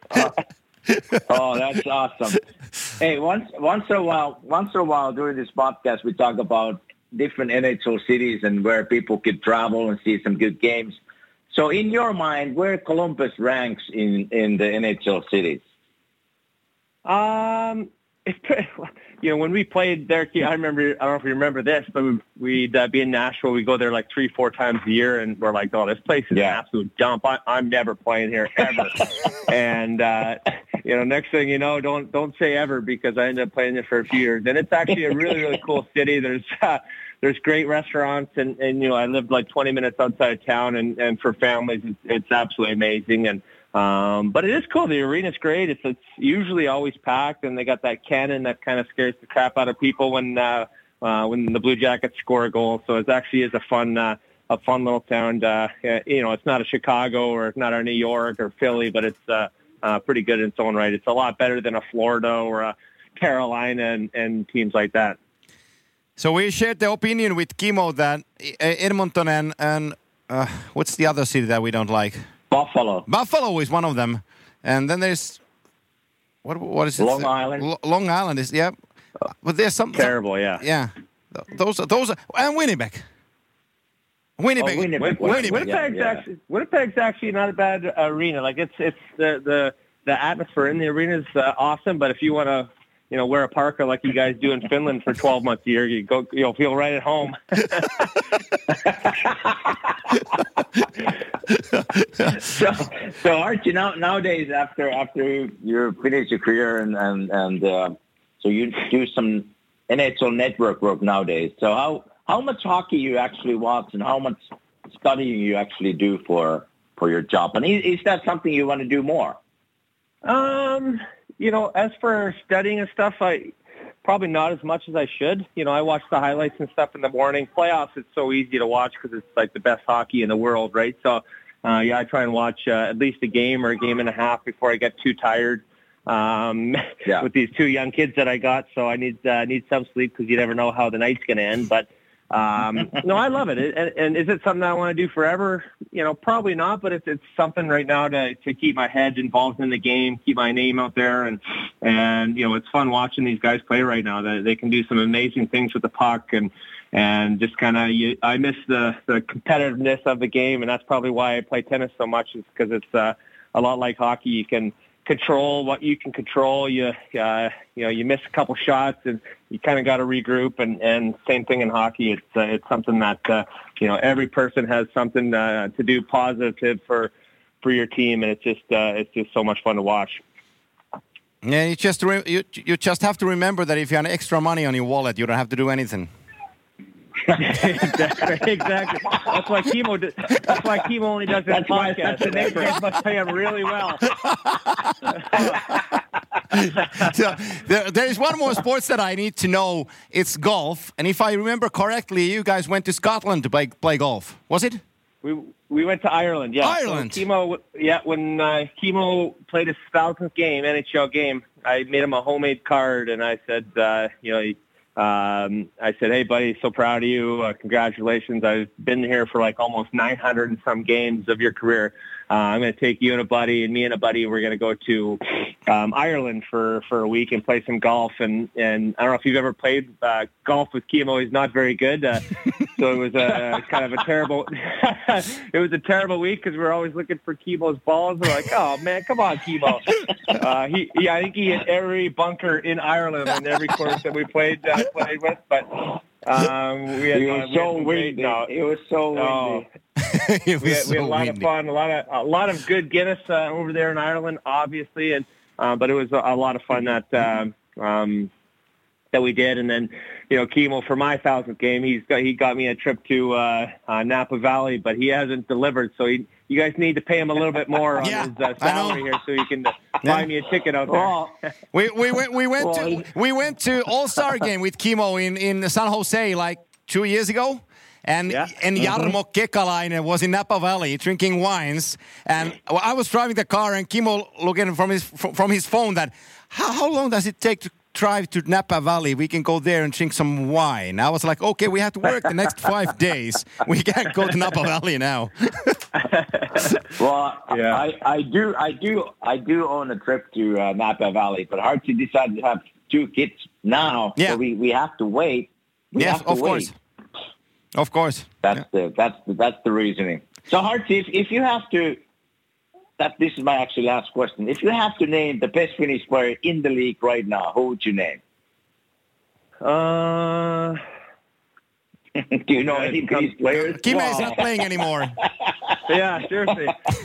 [SPEAKER 3] Oh, that's awesome. Hey, once in a while during this podcast, we talk about different NHL cities and where people could travel and see some good games. So in your mind, where Columbus ranks in the NHL cities?
[SPEAKER 5] When we played there, I remember, I don't know if you remember this, but we'd be in Nashville. We go there like 3-4 times a year, and we're like, "Oh, this place is an absolute dump. I'm never playing here ever." And next thing you know, don't say ever, because I ended up playing there for a few years, and it's actually a really, really cool city. There's great restaurants, and I lived like 20 minutes outside of town, and for families, it's absolutely amazing. And but it is cool. The arena's great. It's usually always packed, and they got that cannon that kind of scares the crap out of people when the Blue Jackets score a goal. So it actually is a fun little town. It's not a Chicago or it's not a New York or Philly, but it's pretty good in its own right. It's a lot better than a Florida or a Carolina and teams like that.
[SPEAKER 2] So we shared the opinion with Kimmo that Edmonton and what's the other city that we don't like?
[SPEAKER 3] Buffalo.
[SPEAKER 2] Buffalo is one of them. And then there's what is it?
[SPEAKER 3] Long Island.
[SPEAKER 2] Long Island is but there's some
[SPEAKER 5] Terrible, yeah.
[SPEAKER 2] Yeah, those are and Winnipeg. Winnipeg.
[SPEAKER 5] Winnipeg's actually not a bad arena. Like it's the atmosphere in the arena is awesome. But if you want to, wear a parka like you guys do in Finland for 12 months a year, you'll feel right at home.
[SPEAKER 3] So Archie, nowadays after you finish your career and so you do some NHL network work nowadays. So how much hockey you actually watch and how much studying you actually do for your job? And is that something you want to do more?
[SPEAKER 5] As for studying and stuff, I probably not as much as I should. I watch the highlights and stuff in the morning. Playoffs, it's so easy to watch because it's like the best hockey in the world, right? So, I try and watch at least a game or a game and a half before I get too tired. With these two young kids that I got, so I need some sleep because you never know how the night's going to end. But no, I love it. And is it something I want to do forever? Probably not. But it's something right now to keep my head involved in the game, keep my name out there, and it's fun watching these guys play right now. They can do some amazing things with the puck, and just kind of I miss the competitiveness of the game, and that's probably why I play tennis so much. Is because it's a lot like hockey. You can control what you can control. You miss a couple shots and you kind of got to regroup. And same thing in hockey. It's something that every person has something to do positive for your team, and it's just so much fun to watch.
[SPEAKER 2] Yeah, you just have to remember that if you have extra money on your wallet, you don't have to do anything.
[SPEAKER 5] Exactly. That's why Kimo only does this podcast. The neighbors must pay him really well.
[SPEAKER 2] So, there is one more sports that I need to know. It's golf, and if I remember correctly, you guys went to Scotland to play golf. Was it?
[SPEAKER 5] We went to Ireland. Yeah.
[SPEAKER 2] Ireland.
[SPEAKER 5] So when Kimo played his 1000th game, NHL game, I made him a homemade card, and I said, hey, buddy, so proud of you. Congratulations. I've been here for like almost 900 and some games of your career. I'm going to take you and a buddy, and me and a buddy, we're going to go to Ireland for a week and play some golf. And I don't know if you've ever played golf with Kimo. He's not very good. So it was kind of a terrible it was a terrible week because we were always looking for Kimo's balls. We're like, oh, man, come on, Kimo. I think he hit every bunker in Ireland on every course that we played with. But it was so windy. It was so windy. We had a lot of fun, a lot of good Guinness over there in Ireland, obviously, and but it was a lot of fun that we did. And then, Kimo, for my 1000th game, he got me a trip to Napa Valley, but he hasn't delivered. So you guys need to pay him a little bit more on his salary here, so he can buy me a ticket out there.
[SPEAKER 2] We went to All-Star game with Kimo in San Jose like 2 years ago. And Jarmo Kekalainen was in Napa Valley drinking wines, and I was driving the car, and Kimo looking from his phone that how long does it take to drive to Napa Valley? We can go there and drink some wine. I was like, okay, we have to work the next 5 days. We can't go to Napa Valley now.
[SPEAKER 3] Well, yeah. I do own a trip to Napa Valley, but Archie decided to have 2 kids now, so we have to wait.
[SPEAKER 2] Yes, of course. Of course.
[SPEAKER 3] That's the reasoning. So, Archie, if you have to, this is my actually last question. If you have to name the best Finnish player in the league right now, who would you name? Do you know any Finnish players?
[SPEAKER 2] Kimo is not playing anymore.
[SPEAKER 5] Yeah, seriously.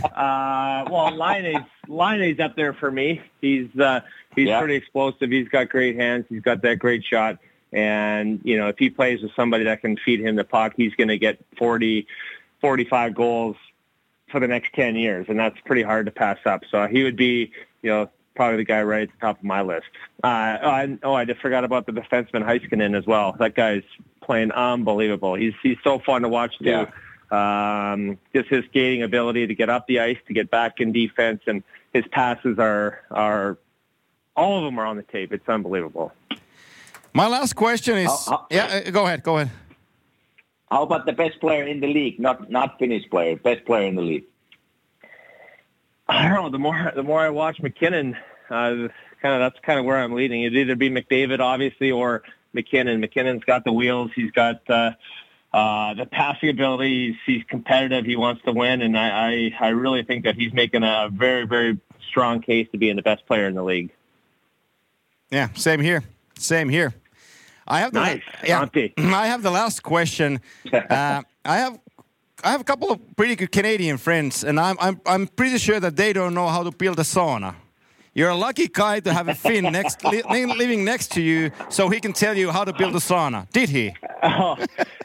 [SPEAKER 5] Laine's up there for me. He's pretty explosive. He's got great hands. He's got that great shot. And, if he plays with somebody that can feed him the puck, he's going to get 40, 45 goals for the next 10 years. And that's pretty hard to pass up. So he would be, probably the guy right at the top of my list. I just forgot about the defenseman Heiskanen as well. That guy's playing unbelievable. He's so fun to watch too. Yeah. Just his skating ability to get up the ice, to get back in defense, and his passes are all of them are on the tape. It's unbelievable.
[SPEAKER 2] My last question is... Go ahead.
[SPEAKER 3] How about the best player in the league? Not Finnish player, best player in the league.
[SPEAKER 5] I don't know. The more I watch McKinnon, That's kind of where I'm leading. It'd either be McDavid, obviously, or McKinnon. McKinnon's got the wheels. He's got the passing ability. He's competitive. He wants to win, and I really think that he's making a very, very strong case to being the best player in the league.
[SPEAKER 2] Yeah, same here. I have the last question. I have a couple of pretty good Canadian friends, and I'm pretty sure that they don't know how to build a sauna. You're a lucky guy to have a Finn living next to you, so he can tell you how to build a sauna. Did he?
[SPEAKER 5] Oh,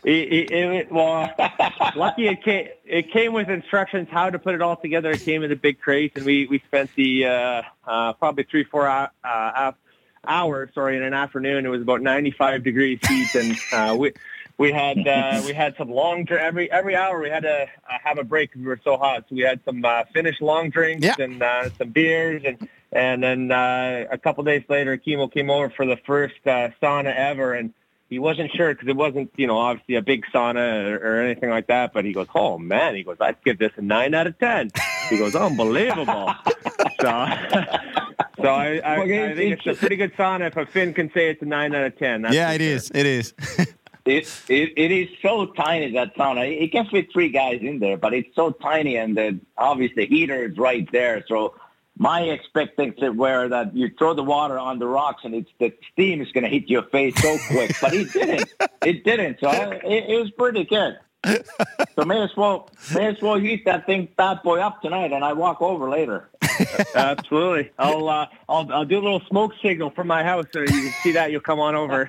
[SPEAKER 5] lucky it came with instructions how to put it all together. It came in a big crate, and we spent the probably 3-4 hours in an afternoon. It was about 95 degrees heat, and we had some long every hour we had to have a break because we were so hot. So we had some Finnish long drinks and some beers, and then a couple days later, Kimo came over for the first sauna ever, and he wasn't sure because it wasn't obviously a big sauna or anything like that. But he goes, "Oh man," he goes, "I'd give this a 9 out of 10." He goes, "Unbelievable." So I think it's a pretty good sauna if a Finn can say it's a 9 out of 10.
[SPEAKER 2] It is. It is.
[SPEAKER 3] It is so tiny, that sauna. It can fit 3 guys in there, but it's so tiny, and obviously the heater is right there. So my expectations were that you throw the water on the rocks and the steam is going to hit your face so quick. But it didn't. It didn't. So it was pretty good. So may as well heat that bad boy up tonight, and I walk over later.
[SPEAKER 5] Absolutely. I'll do a little smoke signal from my house so you can see that. You'll come on over.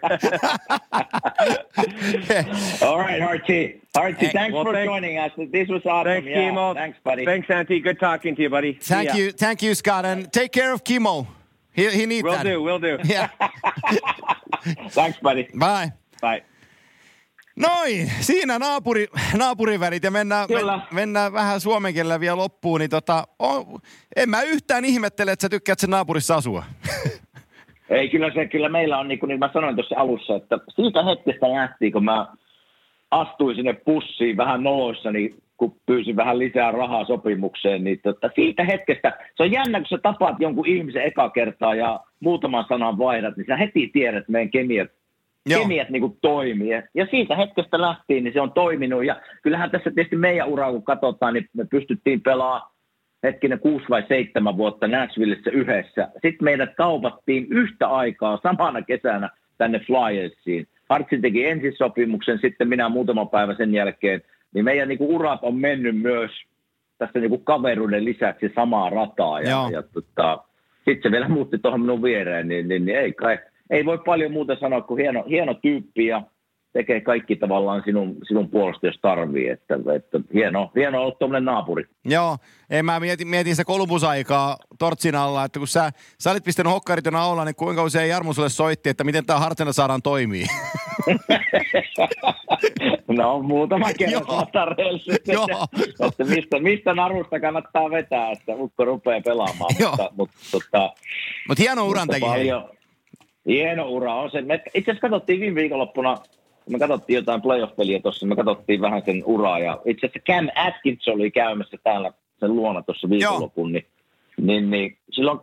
[SPEAKER 3] All right, Archie. Thanks for joining us. This was awesome.
[SPEAKER 5] Thanks, Kimo.
[SPEAKER 3] Thanks, buddy.
[SPEAKER 5] Thanks, Antti. Good talking to you, buddy.
[SPEAKER 2] Thank you, Scott, and take care of Kimo. He needs that.
[SPEAKER 5] Will do.
[SPEAKER 2] Yeah.
[SPEAKER 3] Thanks, buddy.
[SPEAKER 2] Bye.
[SPEAKER 5] Bye.
[SPEAKER 2] Noin, siinä naapurivälit ja mennään vähän suomen kielellä vielä loppuun. Niin en mä yhtään ihmettele, että sä tykkäät sen naapurissa asua.
[SPEAKER 3] Ei, kyllä meillä on, niin kuin mä sanoin tuossa alussa, että siitä hetkestä lähtien, kun mä astuin sinne pussiin vähän noloissani, kun pyysin vähän lisää rahaa sopimukseen, niin siitä hetkestä, se on jännä, kun sä tapaat jonkun ihmisen eka kertaa ja muutaman sanan vaihdat, niin sä heti tiedät, että meidän kemiat niin kuin toimii. Ja siitä hetkestä lähtien niin se on toiminut. Ja kyllähän tässä tietysti meidän uraa, kun katsotaan, niin me pystyttiin pelaamaan 6 vai 7 vuotta Nashvillessä yhdessä. Sitten meidät kaupattiin yhtä aikaa samana kesänä tänne Flyersiin. Hartsin teki ensisopimuksen, sitten minä muutama päivä sen jälkeen. Niin meidän niin kuin urat on mennyt myös tässä niin kuin kaveruuden lisäksi samaa rataa. Ja sitten se vielä muutti tuohon minun viereen, niin ei voi paljon muuta sanoa kuin hieno tyyppi ja tekee kaikki tavallaan sinun puolesta, jos tarvii. Että hieno olla tuommoinen naapuri.
[SPEAKER 2] Joo, mä mietin sitä Columbus-aikaa Tortsin alla, että kun sä olit pistänyt hokkarit jo naulaa, niin kuinka usein Jarmo sulle soitti, että miten tämä Hartsena saadaan toimii?
[SPEAKER 3] No muutama kerran tarjoillut, että mistä narusta kannattaa vetää, että ukko rupeaa pelaamaan.
[SPEAKER 2] Mutta hieno uran teki.
[SPEAKER 3] Hieno ura on se. Itse asiassa katsottiin viime viikonloppuna, me katsottiin jotain playoff-peliä tuossa, me katsottiin vähän sen uraa. Ja itse asiassa Cam Atkinson oli käymässä täällä sen luona tuossa viikonlopun. Niin silloin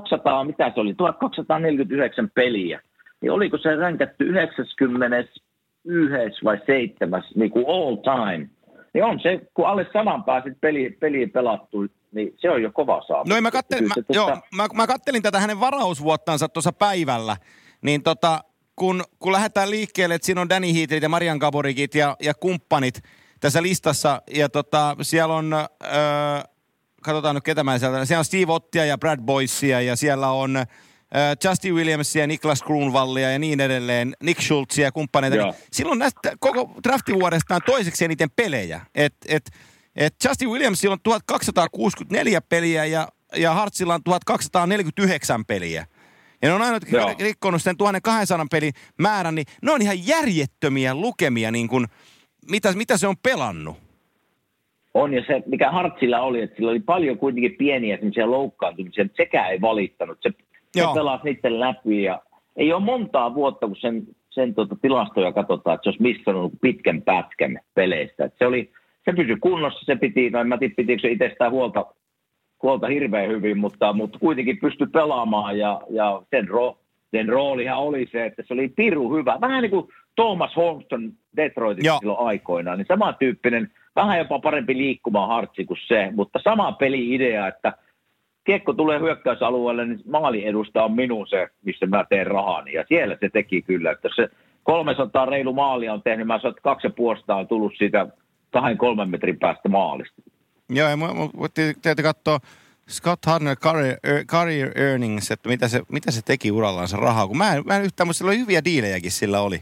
[SPEAKER 3] 1249 peliä. Niin oliko se ränkätty 91 vai 7 niin kuin all time. Niin on se, kun alle 100 pääsit peliin pelattu, niin se on jo kova saavutus.
[SPEAKER 2] No mä kattelin tätä hänen varausvuottansa tuossa päivällä, niin kun lähdetään liikkeelle, että siinä on Danny Heatlit ja Marian Gaborikit ja kumppanit tässä listassa, ja siellä on, katsotaan nyt ketä mä sieltä, siellä on Steve Ottia ja Brad Boysia, ja siellä on Justin Williamsia, Niklas Kronwallia ja niin edelleen, Nick Schultzia ja kumppaneita. Niin silloin näistä koko draftivuodestaan toiseksi eniten pelejä. Justin Williamsilla on 1264 peliä ja Hartsilla on 1249 peliä. Ja ne on aina rikkonut sen 1200 pelin määrän, niin ne on ihan järjettömiä lukemia, niin kuin, mitä se on pelannut.
[SPEAKER 3] On, ja se, mikä Hartsilla oli, että sillä oli paljon kuitenkin pieniä semmoisia loukkaantumisia, mutta sekään ei valittanut. Se pelasi niiden läpi, ja ei ole montaa vuotta, kun sen tilastoja katsotaan, että se olisi missannut pitkän pätkän peleistä. Että se pysyi kunnossa, se piti, no en mä tiedä, pitikö se itsestään koolta hirveän hyvin, mutta kuitenkin pystyi pelaamaan ja sen roolihan oli se, että se oli pirun hyvä. Vähän niin kuin Thomas Holmeston Detroitissa silloin aikoinaan, niin samantyyppinen, vähän jopa parempi liikkumaan hartsi kuin se, mutta sama peli-idea, että kiekko tulee hyökkäysalueelle, niin maalin edusta on minun se, missä mä teen rahani. Ja siellä se teki kyllä, että se 300 reilu maalia on tehnyt, mä sanoin, että 2,5 on tullut siitä 2-3 metrin päästä maalista.
[SPEAKER 2] Joo, ja täytyy katsoa Scott Hartnell career earnings, että mitä se teki urallaan se rahaa, kun mä en yhtään, mutta sillä oli hyviä diilejäkin sillä oli.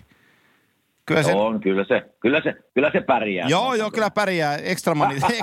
[SPEAKER 3] Kyllä se pärjää.
[SPEAKER 2] Joo, kyllä pärjää. Extra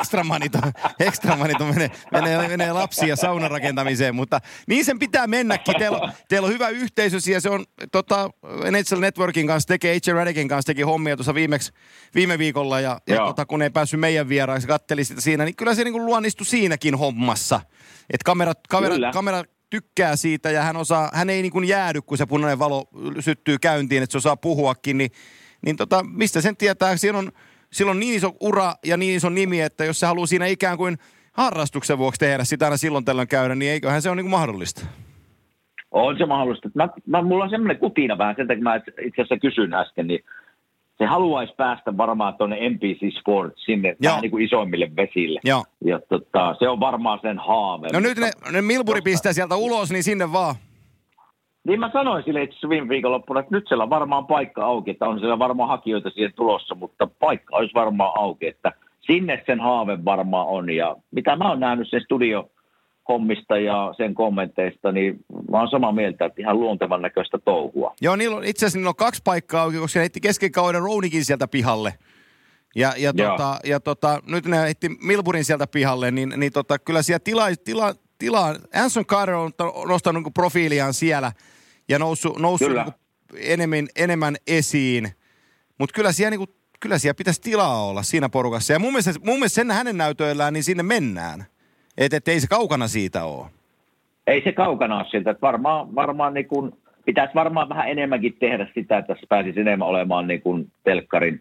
[SPEAKER 2] money menee lapsia saunan rakentamiseen, mutta niin sen pitää mennäkin. Teillä on hyvä yhteisö ja se on NHL Networkin kanssa H.J. Radikin kanssa teki hommia tuossa viime viikolla ja kun ei päässyt meidän vieraaksi, katteli sitä siinä, niin kyllä se niin kuin luonnistui siinäkin hommassa. Että kamera tykkää siitä ja hän ei niin kuin jäädy, kun se punainen valo syttyy käyntiin, että se osaa puhuakin, niin mistä sen tietää, sillä on niin iso ura ja niin iso nimi, että jos se haluaa siinä ikään kuin harrastuksen vuoksi tehdä sitä aina silloin tällöin käydä, niin eiköhän se ole niin kuin mahdollista.
[SPEAKER 3] On se mahdollista. Mulla on semmoinen kutina vähän, sen takia mä itse asiassa kysyn äsken, niin se haluaisi päästä varmaan tuonne NBC Sports sinne vähän niin kuin isoimmille vesille.
[SPEAKER 2] Joo.
[SPEAKER 3] Ja se on varmaan sen haave.
[SPEAKER 2] No nyt ne Milbury pistää sieltä ulos, niin sinne vaan.
[SPEAKER 3] Niin mä sanoin sille itse asiassa viime viikonloppuna, että nyt siellä on varmaan paikka auki, että on siellä varmaan hakijoita siihen tulossa, mutta paikka olisi varmaan auki, että sinne sen haave varmaan on. Ja mitä mä oon nähnyt sen studiohommista ja sen kommenteista, niin mä oon samaa mieltä, että ihan luontevan näköistä touhua.
[SPEAKER 2] Joo, itse asiassa niillä on 2 paikkaa auki, koska ne heitti kesken kauden Rounikin sieltä pihalle. Ja nyt ne heitti Milburyn sieltä pihalle, niin kyllä siellä tilaa. Anson Carter on nostanut niin profiiliaan siellä ja noussut niin enemmän esiin. Mutta kyllä siellä pitäisi tilaa olla siinä porukassa. Ja mun mielestä sen hänen näytöillään, niin sinne mennään. Että ei se kaukana siitä ole. Ei se kaukana ole siltä.
[SPEAKER 3] Varmaan niin kuin, pitäisi varmaan vähän enemmänkin tehdä sitä, että tässä pääsisi enemmän olemaan niin kuin telkkarin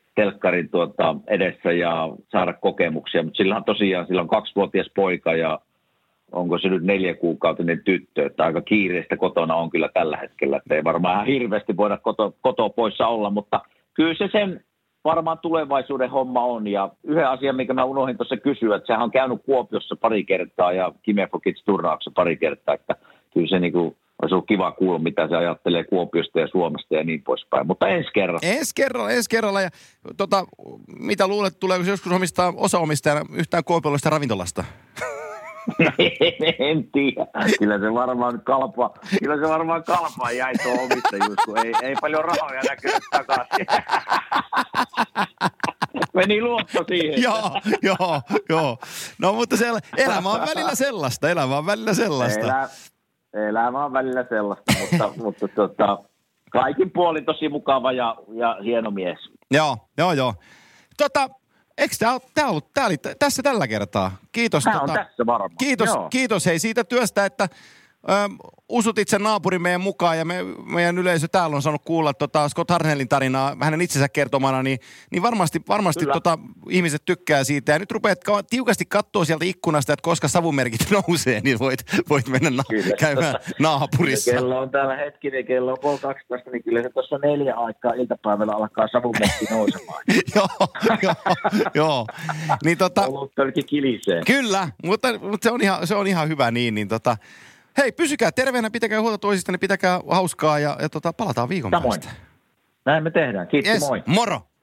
[SPEAKER 3] edessä ja saada kokemuksia. Mutta sillä on 2-vuotias poika ja onko se nyt 4-kuukautinen tyttö, että aika kiireistä kotona on kyllä tällä hetkellä, että ei varmaan ihan hirveästi voida kotoa poissa olla, mutta kyllä se sen varmaan tulevaisuuden homma on. Ja yhden asian, mikä mä unohdin tuossa kysyä, että sehän on käynyt Kuopiossa pari kertaa ja Kimefokits-turnauksessa pari kertaa, että kyllä se niinku olisi ollut kiva kuulla, mitä se ajattelee Kuopiosta ja Suomesta ja niin poispäin, mutta ensi kerralla. Ja mitä luulet, tuleeko se joskus osaomistajana yhtään kuopiolaista ravintolasta? En tiedä. Kyllä se varmaan kalpaa jäi tuo omistajuus, kun ei paljon rahoja näkynyt takaisin. Meni luotto siihen.
[SPEAKER 2] Joo. No mutta elämä on välillä sellaista.
[SPEAKER 3] Elämä on välillä sellaista, mutta kaikin puolin tosi mukava ja hieno mies.
[SPEAKER 2] Joo. Eikö tämä oli tässä tällä kertaa? Kiitos.
[SPEAKER 3] Tämä on tässä varmaan.
[SPEAKER 2] Kiitos hei siitä työstä, että usutit sen naapurin meidän mukaan ja meidän yleisö täällä on saanut kuulla Scott Hartnellin tarinaa hänen itsensä kertomana, niin varmasti ihmiset tykkää siitä. Ja nyt rupeat tiukasti katsoa sieltä ikkunasta, että koska savumerkit nousee, niin voit mennä käymään naapurissa.
[SPEAKER 3] Kello on täällä hetkinen, kello on 12, niin kyllä se tuossa 4 aikaa iltapäivällä alkaa savumerkki nousemaan.
[SPEAKER 2] Joo. Niin
[SPEAKER 3] Oluttölki kilisee.
[SPEAKER 2] Kyllä, mutta se on ihan hyvä niin hei, pysykää terveenä, pitäkää huolta toisista, niin pitäkää hauskaa ja palataan viikon päästä.
[SPEAKER 3] Näin me tehdään. Kiitos, moi.
[SPEAKER 2] Moro!